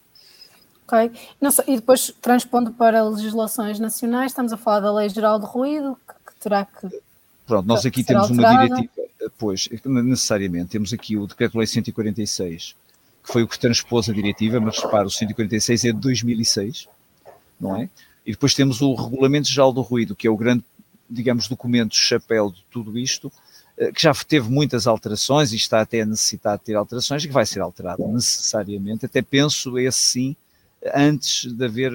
Ok. E depois, transpondo para legislações nacionais, estamos a falar da Lei Geral de Ruído, que terá que... Pronto, nós aqui temos alterada. uma diretiva, pois, necessariamente, temos aqui o Decreto-Lei 146, que foi o que transpôs a diretiva, mas repara, o 146 é de 2006, não é? E depois temos o Regulamento Geral do Ruído, que é o grande, digamos, documento chapéu de tudo isto, que já teve muitas alterações e está até a necessitar de ter alterações, e que vai ser alterado necessariamente, até penso esse sim, antes de haver...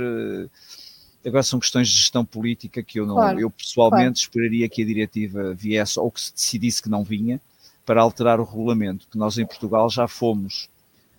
Agora são questões de gestão política que eu não... Claro, eu pessoalmente esperaria que a diretiva viesse, ou que se decidisse que não vinha, para alterar o regulamento, que nós em Portugal já fomos...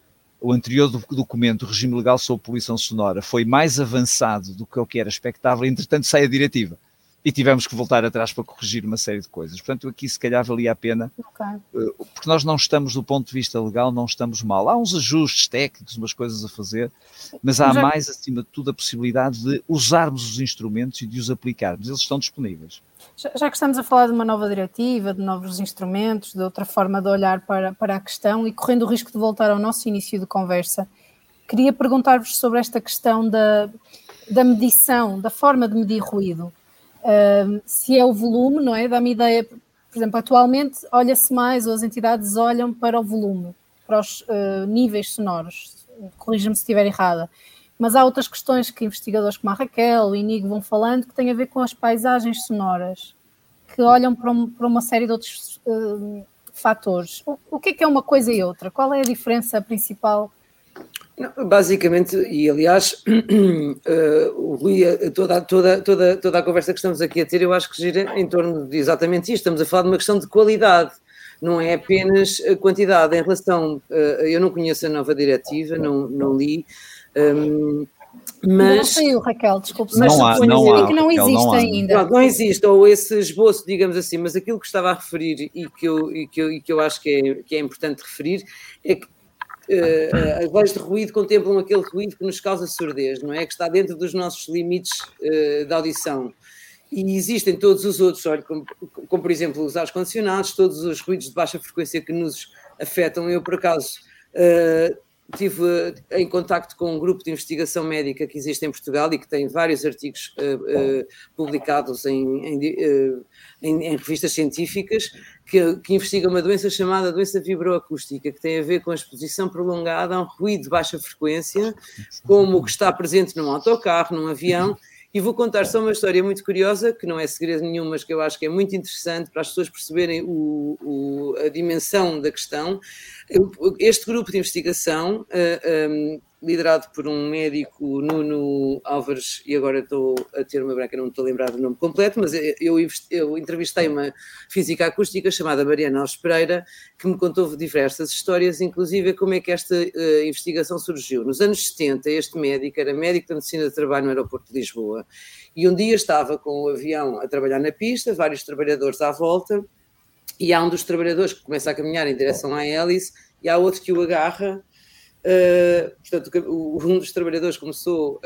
O anterior documento, o regime legal sobre poluição sonora, foi mais avançado do que o que era expectável, entretanto sai a diretiva. E tivemos que voltar atrás para corrigir uma série de coisas. Portanto, aqui se calhar valia a pena, porque nós não estamos, do ponto de vista legal, não estamos mal. Há uns ajustes técnicos, umas coisas a fazer, mas há mais, acima de tudo, a possibilidade de usarmos os instrumentos e de os aplicarmos. Eles estão disponíveis. Já que estamos a falar de uma nova diretiva, de novos instrumentos, de outra forma de olhar para a questão e correndo o risco de voltar ao nosso início de conversa, queria perguntar-vos sobre esta questão da medição, da forma de medir ruído. Se é o volume, não é? Dá-me ideia, por exemplo, atualmente olha-se mais, ou as entidades olham para o volume, para os níveis sonoros, corrija-me se estiver errada, mas há outras questões que investigadores como a Raquel, o Inigo vão falando, que têm a ver com as paisagens sonoras, que olham para uma série de outros fatores. O que é uma coisa e outra? Qual é a diferença principal? Não, basicamente, e aliás, o Rui, toda a conversa que estamos aqui a ter, eu acho que gira em torno de exatamente isto. Estamos a falar de uma questão de qualidade, não é apenas a quantidade. Em relação, eu não conheço a nova diretiva, não li, mas... Não saiu, Raquel, desculpe. Não há, que não existe ainda. Não existe, ou esse esboço, digamos assim, mas aquilo que estava a referir e que eu acho que é importante referir é que as leis de ruído contemplam aquele ruído que nos causa surdez, não é? Que está dentro dos nossos limites de audição. E existem todos os outros, olha, como por exemplo os ar-condicionados, todos os ruídos de baixa frequência que nos afetam. Eu, por acaso, estive em contacto com um grupo de investigação médica que existe em Portugal e que tem vários artigos publicados em revistas científicas que investiga uma doença chamada doença vibroacústica, que tem a ver com a exposição prolongada a um ruído de baixa frequência, como o que está presente num autocarro, num avião. E vou contar só uma história muito curiosa, que não é segredo nenhum, mas que eu acho que é muito interessante para as pessoas perceberem a dimensão da questão. Este grupo de investigação, liderado por um médico, Nuno Álvares, e agora estou a ter uma branca, não me estou a lembrar do nome completo, mas eu entrevistei uma física acústica chamada Mariana Alves Pereira, que me contou diversas histórias, inclusive como é que esta investigação surgiu. Nos anos 70, este médico era médico da medicina de trabalho no aeroporto de Lisboa, e um dia estava com o avião a trabalhar na pista, vários trabalhadores à volta, e há um dos trabalhadores que começa a caminhar em direção à hélice, e há outro que o agarra. Portanto, um dos trabalhadores começou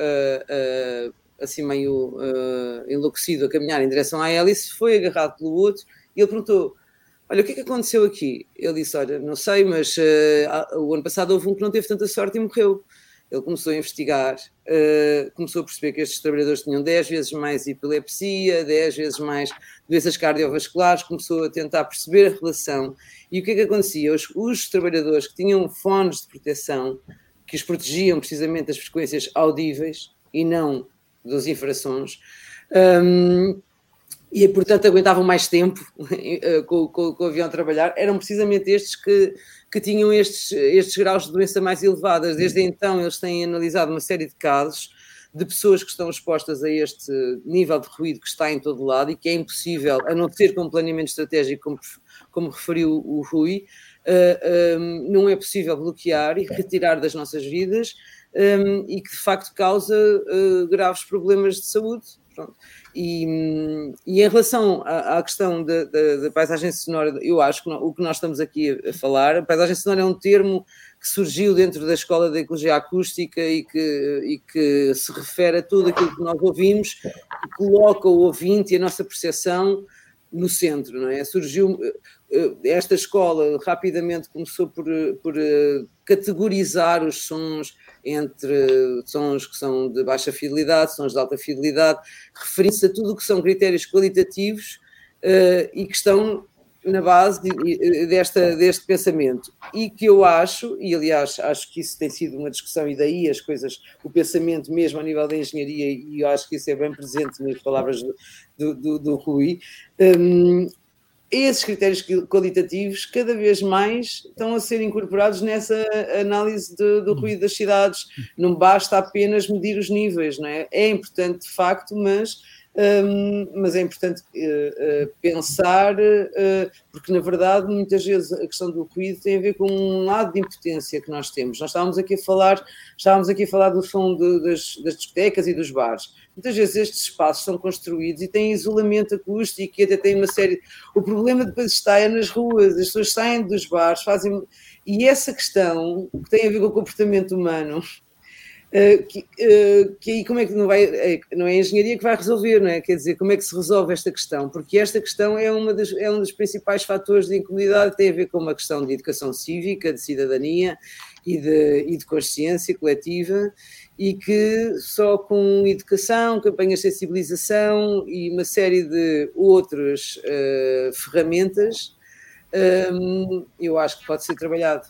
assim meio enlouquecido a caminhar em direção à hélice, foi agarrado pelo outro e ele perguntou: olha, o que é que aconteceu aqui? Ele disse: olha, não sei, mas o ano passado houve um que não teve tanta sorte e morreu. Ele começou a investigar, começou a perceber que estes trabalhadores tinham 10 vezes mais epilepsia, 10 vezes mais doenças cardiovasculares, começou a tentar perceber a relação. E o que é que acontecia? Os trabalhadores que tinham fones de proteção, que os protegiam precisamente das frequências audíveis e não dos infrassons, e, portanto, aguentavam mais tempo com o avião a trabalhar, eram precisamente estes que tinham estes graus de doença mais elevadas. Desde então, eles têm analisado uma série de casos de pessoas que estão expostas a este nível de ruído que está em todo lado e que é impossível, a não ser com um planeamento estratégico, como referiu o Rui, não é possível bloquear e retirar das nossas vidas, e que de facto causa graves problemas de saúde. Pronto. E em relação à questão da paisagem sonora, eu acho que o que nós estamos aqui a falar, a paisagem sonora é um termo que surgiu dentro da Escola de Ecologia Acústica e que se refere a tudo aquilo que nós ouvimos e coloca o ouvinte e a nossa percepção no centro, não é? Surgiu esta escola, rapidamente começou por categorizar os sons entre sons que são de baixa fidelidade, sons de alta fidelidade, referindo-se a tudo o que são critérios qualitativos e que estão na base deste pensamento. E que eu acho, e aliás acho que isso tem sido uma discussão, e daí as coisas, o pensamento mesmo a nível da engenharia, e eu acho que isso é bem presente nas palavras do Rui, esses critérios qualitativos cada vez mais estão a ser incorporados nessa análise do ruído das cidades. Não basta apenas medir os níveis, não é? É importante de facto, mas é importante pensar, porque na verdade muitas vezes a questão do ruído tem a ver com um lado de impotência que nós temos. Nós estávamos aqui a falar do som das discotecas e dos bares. Muitas vezes estes espaços são construídos e têm isolamento acústico e até têm uma série... O problema depois está nas ruas, as pessoas saem dos bares, e essa questão que tem a ver com o comportamento humano, que aí como é que não é a engenharia que vai resolver, não é? Quer dizer, como é que se resolve esta questão? Porque esta questão é um dos principais fatores de incomodidade, tem a ver com uma questão de educação cívica, de cidadania e de consciência coletiva, e que só com educação, campanhas de sensibilização e uma série de outras ferramentas, eu acho que pode ser trabalhado.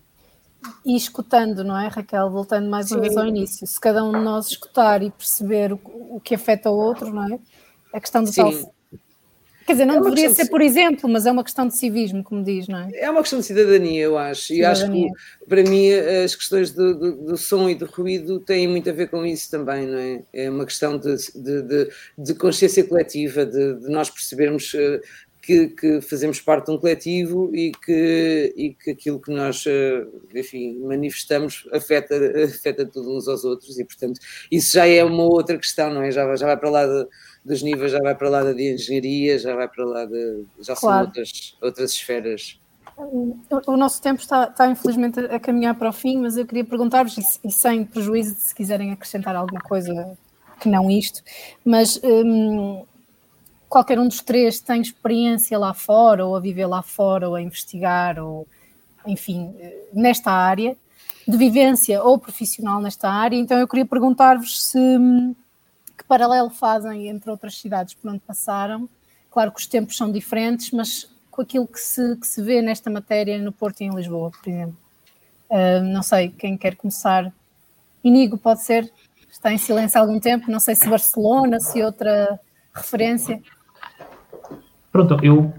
E escutando, não é, Raquel? Voltando mais uma vez ao início, se cada um de nós escutar e perceber o que afeta o outro, não é? A questão do tal... Quer dizer, não deveria ser por exemplo, mas é uma questão de civismo, como diz, não é? É uma questão de cidadania, eu acho. E acho que, para mim, as questões do som e do ruído têm muito a ver com isso também, não é? É uma questão de consciência coletiva, de nós percebermos que fazemos parte de um coletivo e que aquilo que nós, enfim, manifestamos afeta tudo uns aos outros, e, portanto, isso já é uma outra questão, não é? Já vai para lá dos níveis, já vai para lá da engenharia, já vai para lá já claro. São outras esferas. O nosso tempo está infelizmente a caminhar para o fim, mas eu queria perguntar-vos, e sem prejuízo de se quiserem acrescentar alguma coisa que não isto, mas... qualquer um dos três tem experiência lá fora, ou a viver lá fora, ou a investigar, ou, enfim, nesta área, de vivência ou profissional nesta área. Então eu queria perguntar-vos que paralelo fazem entre outras cidades por onde passaram. Claro que os tempos são diferentes, mas com aquilo que se vê nesta matéria no Porto e em Lisboa, por exemplo. Não sei, quem quer começar? Inigo, pode ser? Está em silêncio há algum tempo, não sei se Barcelona, se outra referência. Pronto, eu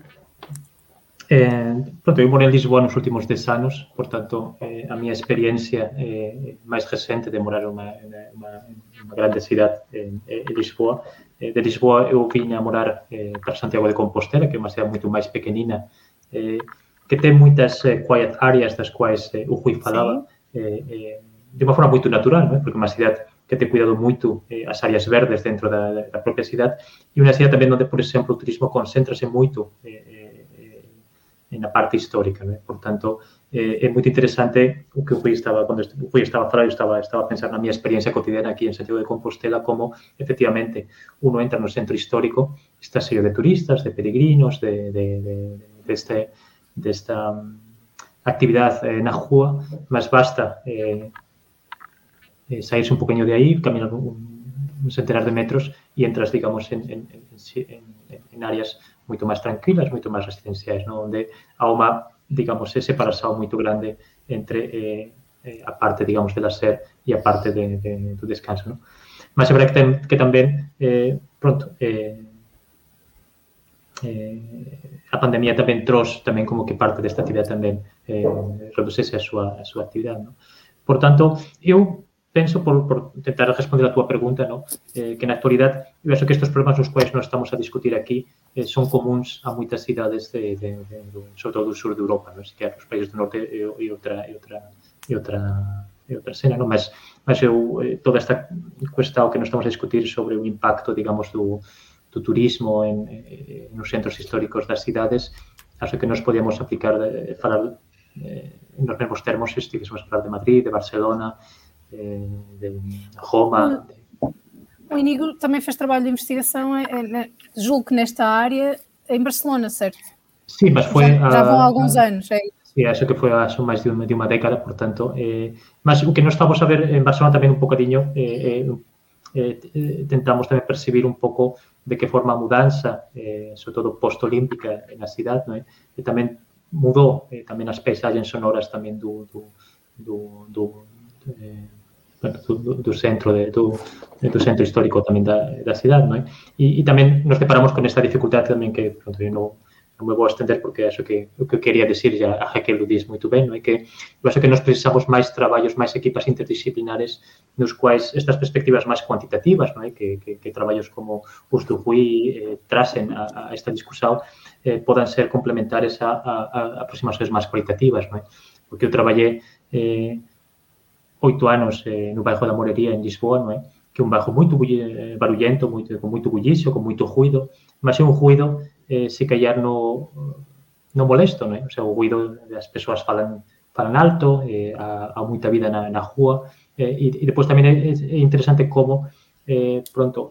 morei em Lisboa nos últimos 10 anos, portanto, a minha experiência mais recente de morar numa grande cidade em Lisboa. De Lisboa eu vim a morar para Santiago de Compostela, que é uma cidade muito mais pequenina, que tem muitas quiet areas das quais o Rui falava, de uma forma muito natural, não é? Porque é uma cidade que tem cuidado muito as áreas verdes dentro da própria cidade, e uma cidade também onde, por exemplo, o turismo concentra-se muito na parte histórica, né? Portanto, é muito interessante o que o Rui estava, quando o Rui estava a falar, eu estava a pensar na minha experiência cotidiana aqui em Santiago de Compostela, como, efectivamente, uno entra no centro histórico, está cheio de turistas, de peregrinos, desta actividade na rua, mas basta sairse un poquinho de aí, caminar un centenar de metros e entras, digamos, en áreas moito máis tranquilas, moito máis residenciais, ¿no? Onde há unha, digamos, separación moito grande entre a parte, digamos, de lazer e a parte do descanso, ¿no? Mas é verdade que tamén, pronto, a pandemia tamén trouxe tamén como que parte desta actividade tamén reducese a súa actividade, non? Por tanto, eu penso, por tentar responder a túa pregunta, ¿no? Que na actualidade, eu acho que estes problemas nos quais nós estamos a discutir aquí son comuns a moitas cidades, sobre todo do sur de Europa, ¿no? Así que os países do norte e outra cena, ¿no? Mas eu, toda esta cuestión que nos estamos a discutir sobre o impacto, digamos, do turismo nos centros históricos das cidades, acho que nos podíamos aplicar, falar nos mesmos termos, se estivéssemos a falar de Madrid, de Barcelona, de Roma. O Iñigo também fez trabalho de investigação, julgo que nesta área, em Barcelona, certo? Sim, mas foi... Já vão há alguns anos, é isso? Sí, acho que foi há máis de uma década, portanto. Mas o que nós estamos a ver en Barcelona tamén un bocadinho, tentamos tamén percibir un pouco de que forma a mudanza, sobre todo post-olímpica na cidade, non é? E tamén mudou tamén as paisagens sonoras tamén do centro do centro histórico tamén da cidade, non é? E tamén nos deparamos con esta dificultade tamén que, pronto, eu non me vou a estender porque acho que o que eu quería decir ya a Raquel lo diz moito ben, non é? Que eu acho que nós precisamos máis traballos, máis equipas interdisciplinares nos quais estas perspectivas máis cuantitativas, non é? Que traballos como os do RUI trasen a esta discusión podan ser complementares a aproximacións máis cualitativas, non é? Porque eu traballei 8 anos no bairro da Morería, en Lisboa, non é? Que é un bairro moito barullento, con moito bullicio, con moito ruido, mas é un ruido se callar no molesto, non é? O sea, o ruido das persoas falan alto, há moita vida na rúa, e depois tamén é interesante como, pronto,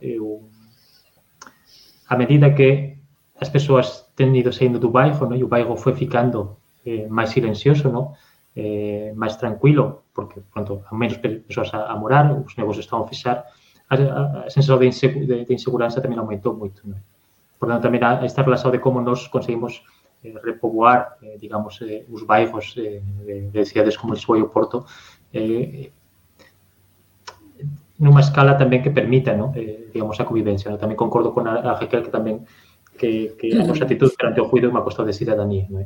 a medida que as persoas ten ido saindo do bairro, non? E o bairro foi ficando máis silencioso, non? Máis tranquilo, porque, pronto, há menos persoas a morar, os negocios están a fechar, a sensación de inseguranza tamén aumentou moito, non é? Por tanto, tamén há esta relación de como nos conseguimos repoboar, digamos, os bairros de cidades como Lisboa e o Porto nunha escala tamén que permita, ¿no? Digamos, a convivencia, ¿no? Tamén concordo con a Raquel que tamén que a nosa actitud perante o ruido é unha cuestión de cidadanía, non é?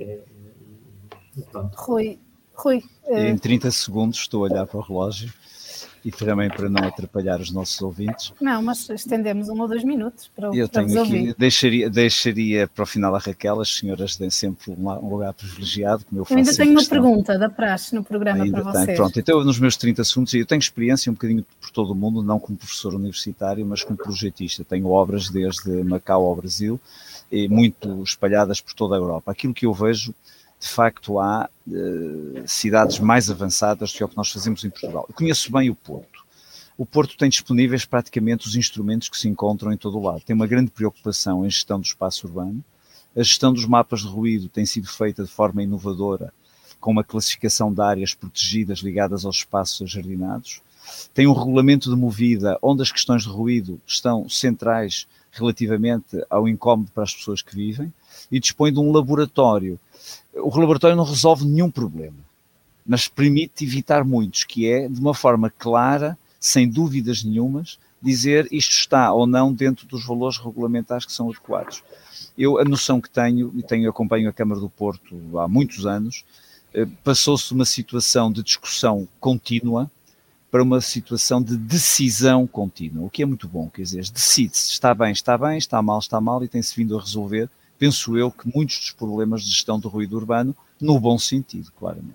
Rui. Em 30 segundos estou a olhar para o relógio e também para não atrapalhar os nossos ouvintes. Não, mas estendemos 1 ou 2 minutos para eu tenho resolver. Aqui, deixaria para o final a Raquel, as senhoras têm sempre um lugar privilegiado, como eu faço. Eu ainda tenho uma pergunta da praxe no programa ainda para vocês. Pronto, então nos meus 30 segundos, eu tenho experiência um bocadinho por todo o mundo, não como professor universitário, mas como projetista. Tenho obras desde Macau ao Brasil, e muito espalhadas por toda a Europa. Aquilo que eu vejo, de facto, há cidades mais avançadas do que o que nós fazemos em Portugal. Eu conheço bem o Porto. O Porto tem disponíveis praticamente os instrumentos que se encontram em todo o lado. Tem uma grande preocupação em gestão do espaço urbano. A gestão dos mapas de ruído tem sido feita de forma inovadora, com uma classificação de áreas protegidas ligadas aos espaços ajardinados. Tem um regulamento de movida onde as questões de ruído estão centrais relativamente ao incómodo para as pessoas que vivem, e dispõe de um laboratório. O laboratório não resolve nenhum problema, mas permite evitar muitos, que é, de uma forma clara, sem dúvidas nenhumas, dizer isto está ou não dentro dos valores regulamentares que são adequados. A noção que tenho, e acompanho a Câmara do Porto há muitos anos, passou-se de uma situação de discussão contínua para uma situação de decisão contínua, o que é muito bom, quer dizer, decide-se, está bem, está mal, e tem-se vindo a resolver, penso eu, que muitos dos problemas de gestão do ruído urbano, no bom sentido, claramente.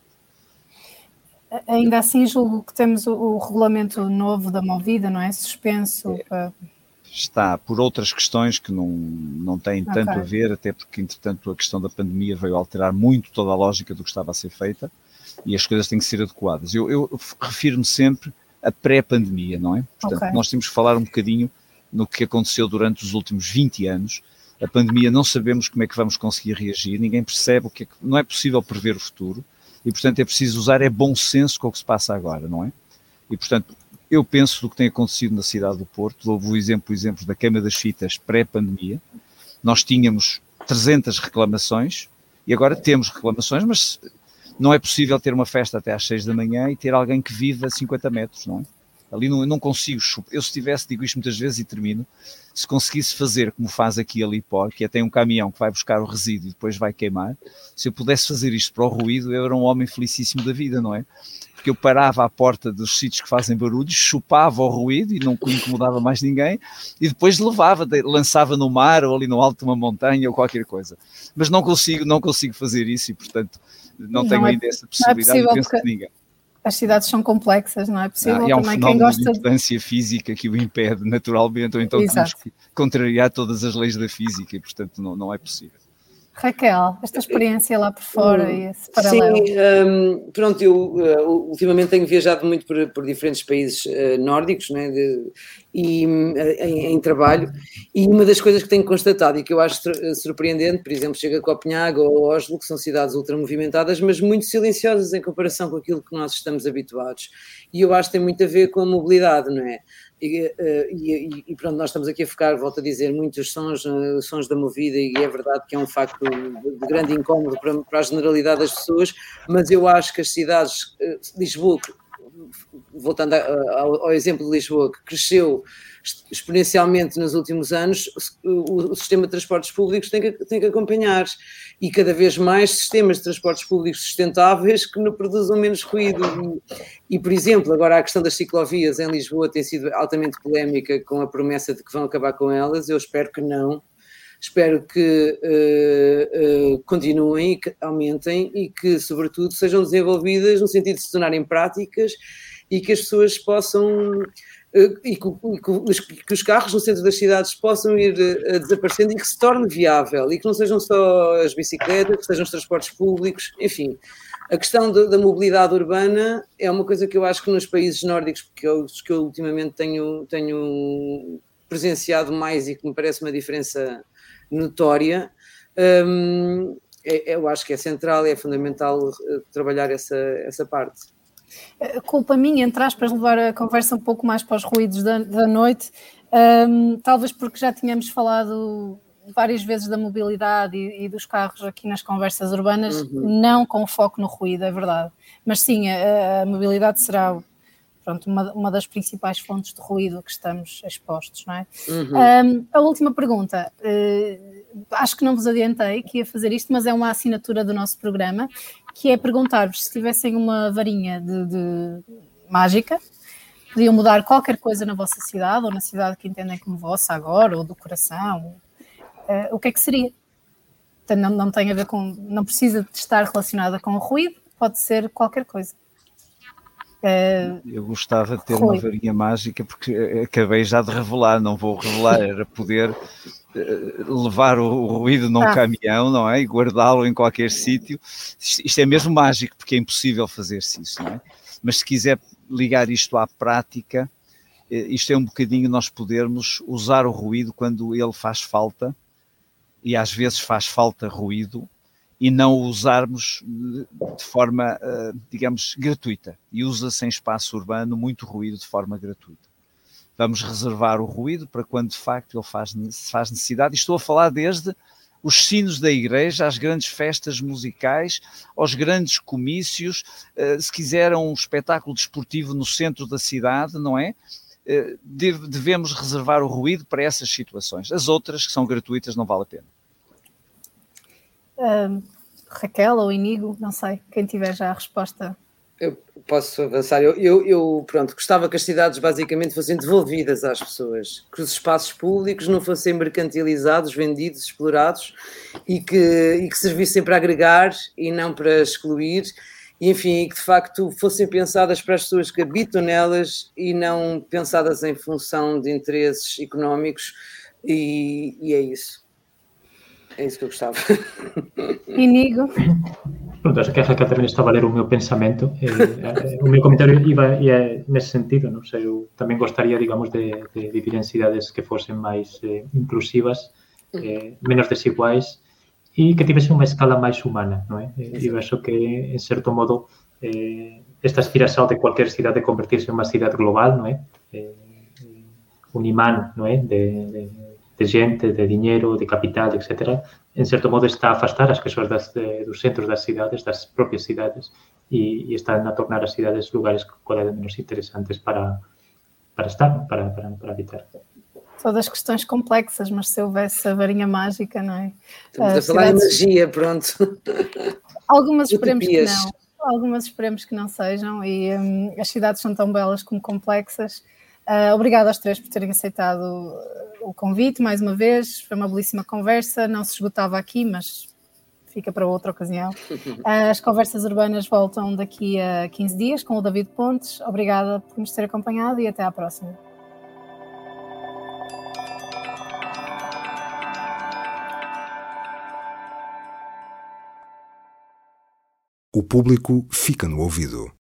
Ainda assim, julgo que temos o regulamento novo da Movida, não é? Suspenso. Está por outras questões que não têm tanto a ver, até porque, entretanto, a questão da pandemia veio alterar muito toda a lógica do que estava a ser feita, e as coisas têm que ser adequadas. Eu refiro-me sempre a pré-pandemia, não é? Portanto, nós temos que falar um bocadinho no que aconteceu durante os últimos 20 anos. A pandemia, não sabemos como é que vamos conseguir reagir, ninguém percebe não é possível prever o futuro, e, portanto, é preciso usar bom senso com o que se passa agora, não é? E, portanto, eu penso do que tem acontecido na cidade do Porto. Houve o exemplo da Queima das Fitas pré-pandemia. Nós tínhamos 300 reclamações, e agora temos reclamações, mas não é possível ter uma festa até às 6 da manhã e ter alguém que vive a 50 metros, não é? Ali não consigo, eu se tivesse, digo isto muitas vezes e termino, se conseguisse fazer como faz aqui a Lipor, que é tem um caminhão que vai buscar o resíduo e depois vai queimar, se eu pudesse fazer isto para o ruído, eu era um homem felicíssimo da vida, não é? Porque eu parava à porta dos sítios que fazem barulhos, chupava o ruído e não incomodava mais ninguém, e depois lançava no mar ou ali no alto de uma montanha ou qualquer coisa. Mas não consigo fazer isso e, portanto, não tenho ainda essa possibilidade e penso que ninguém. As cidades são complexas, não é possível. Há um também fenómeno quem gosta de importância física que o impede naturalmente, ou então temos que contrariar todas as leis da física e, portanto, não é possível. Raquel, esta experiência lá por fora e esse paralelo. Sim, pronto, eu ultimamente tenho viajado muito por diferentes países nórdicos, né, em trabalho, e uma das coisas que tenho constatado e que eu acho surpreendente, por exemplo, chego a Copenhague ou Oslo, que são cidades ultramovimentadas, mas muito silenciosas em comparação com aquilo que nós estamos habituados, e eu acho que tem muito a ver com a mobilidade, não é? E pronto, nós estamos aqui a focar, volto a dizer, muitos sons da movida, e é verdade que é um facto de grande incómodo para a generalidade das pessoas, mas eu acho que as cidades, Lisboa, voltando ao exemplo de Lisboa, que cresceu exponencialmente nos últimos anos, o sistema de transportes públicos tem que acompanhar, e cada vez mais sistemas de transportes públicos sustentáveis que não produzam menos ruído. E, por exemplo, agora a questão das ciclovias em Lisboa tem sido altamente polémica, com a promessa de que vão acabar com elas. Eu espero que não. Espero que continuem e que aumentem e que, sobretudo, sejam desenvolvidas no sentido de se tornarem práticas e que as pessoas possam... E que os carros no centro das cidades possam ir desaparecendo e que se torne viável e que não sejam só as bicicletas, que sejam os transportes públicos, enfim. A questão da mobilidade urbana é uma coisa que eu acho que nos países nórdicos, que eu ultimamente tenho presenciado mais e que me parece uma diferença notória, eu acho que é central, é fundamental trabalhar essa parte. Culpa minha, entre aspas, levar a conversa um pouco mais para os ruídos da noite, talvez porque já tínhamos falado várias vezes da mobilidade e dos carros aqui nas conversas urbanas, não com foco no ruído, é verdade. Mas sim, a mobilidade será, pronto, uma das principais fontes de ruído que estamos expostos, não é? A última pergunta, acho que não vos adiantei que ia fazer isto, mas é uma assinatura do nosso programa, que é perguntar-vos se tivessem uma varinha de mágica, podiam mudar qualquer coisa na vossa cidade, ou na cidade que entendem como vossa agora, ou do coração, o que é que seria? Não tem a ver com, não precisa de estar relacionada com o ruído, pode ser qualquer coisa. Eu gostava de ter uma varinha mágica, porque acabei já de revelar, não vou revelar, era poder levar o ruído num caminhão, não é? E guardá-lo em qualquer sítio. Isto é mesmo mágico, porque é impossível fazer-se isso, não é? Mas se quiser ligar isto à prática, isto é um bocadinho nós podermos usar o ruído quando ele faz falta, e às vezes faz falta ruído, e não o usarmos de forma, digamos, gratuita. E usa-se em espaço urbano muito ruído de forma gratuita. Vamos reservar o ruído para quando de facto ele faz necessidade. E estou a falar desde os sinos da igreja, às grandes festas musicais, aos grandes comícios, se quiser um espetáculo desportivo no centro da cidade, não é? Devemos reservar o ruído para essas situações. As outras, que são gratuitas, não vale a pena. Raquel ou Inigo, não sei, quem tiver já a resposta. Eu posso avançar. Eu pronto, gostava que as cidades basicamente fossem devolvidas às pessoas, que os espaços públicos não fossem mercantilizados, vendidos, explorados e que servissem para agregar e não para excluir, e enfim, que de facto fossem pensadas para as pessoas que habitam nelas e não pensadas em função de interesses económicos, e é isso. É isso que eu gostava. Inigo? Pronto, acho que a Raquel também estava a ler o meu pensamento. O meu comentário ia nesse sentido, não sei, eu também gostaria, digamos, de vivir em cidades que fossem mais inclusivas, menos desiguais e que tivessem uma escala mais humana, não é? Eu acho que, em certo modo, esta aspiração de qualquer cidade de convertir-se em uma cidade global, não é? Um imán, não é? De gente, de dinheiro, de capital, etc., em certo modo está a afastar as pessoas dos centros das cidades, das próprias cidades, e están a tornar as cidades lugares cada vez menos interesantes para para estar, para habitar. Todas questões complexas, mas se houvesse a varinha mágica, não é? Estamos a falar de magia, pronto. Algumas esperemos que não. Algumas esperemos que não sejam, e as cidades são tão belas como complexas. Obrigada aos três por terem aceitado o convite mais uma vez. Foi uma belíssima conversa, não se esgotava aqui, mas fica para outra ocasião. As conversas urbanas voltam daqui a 15 dias com o David Pontes. Obrigada por nos ter acompanhado e até à próxima. O público fica no ouvido.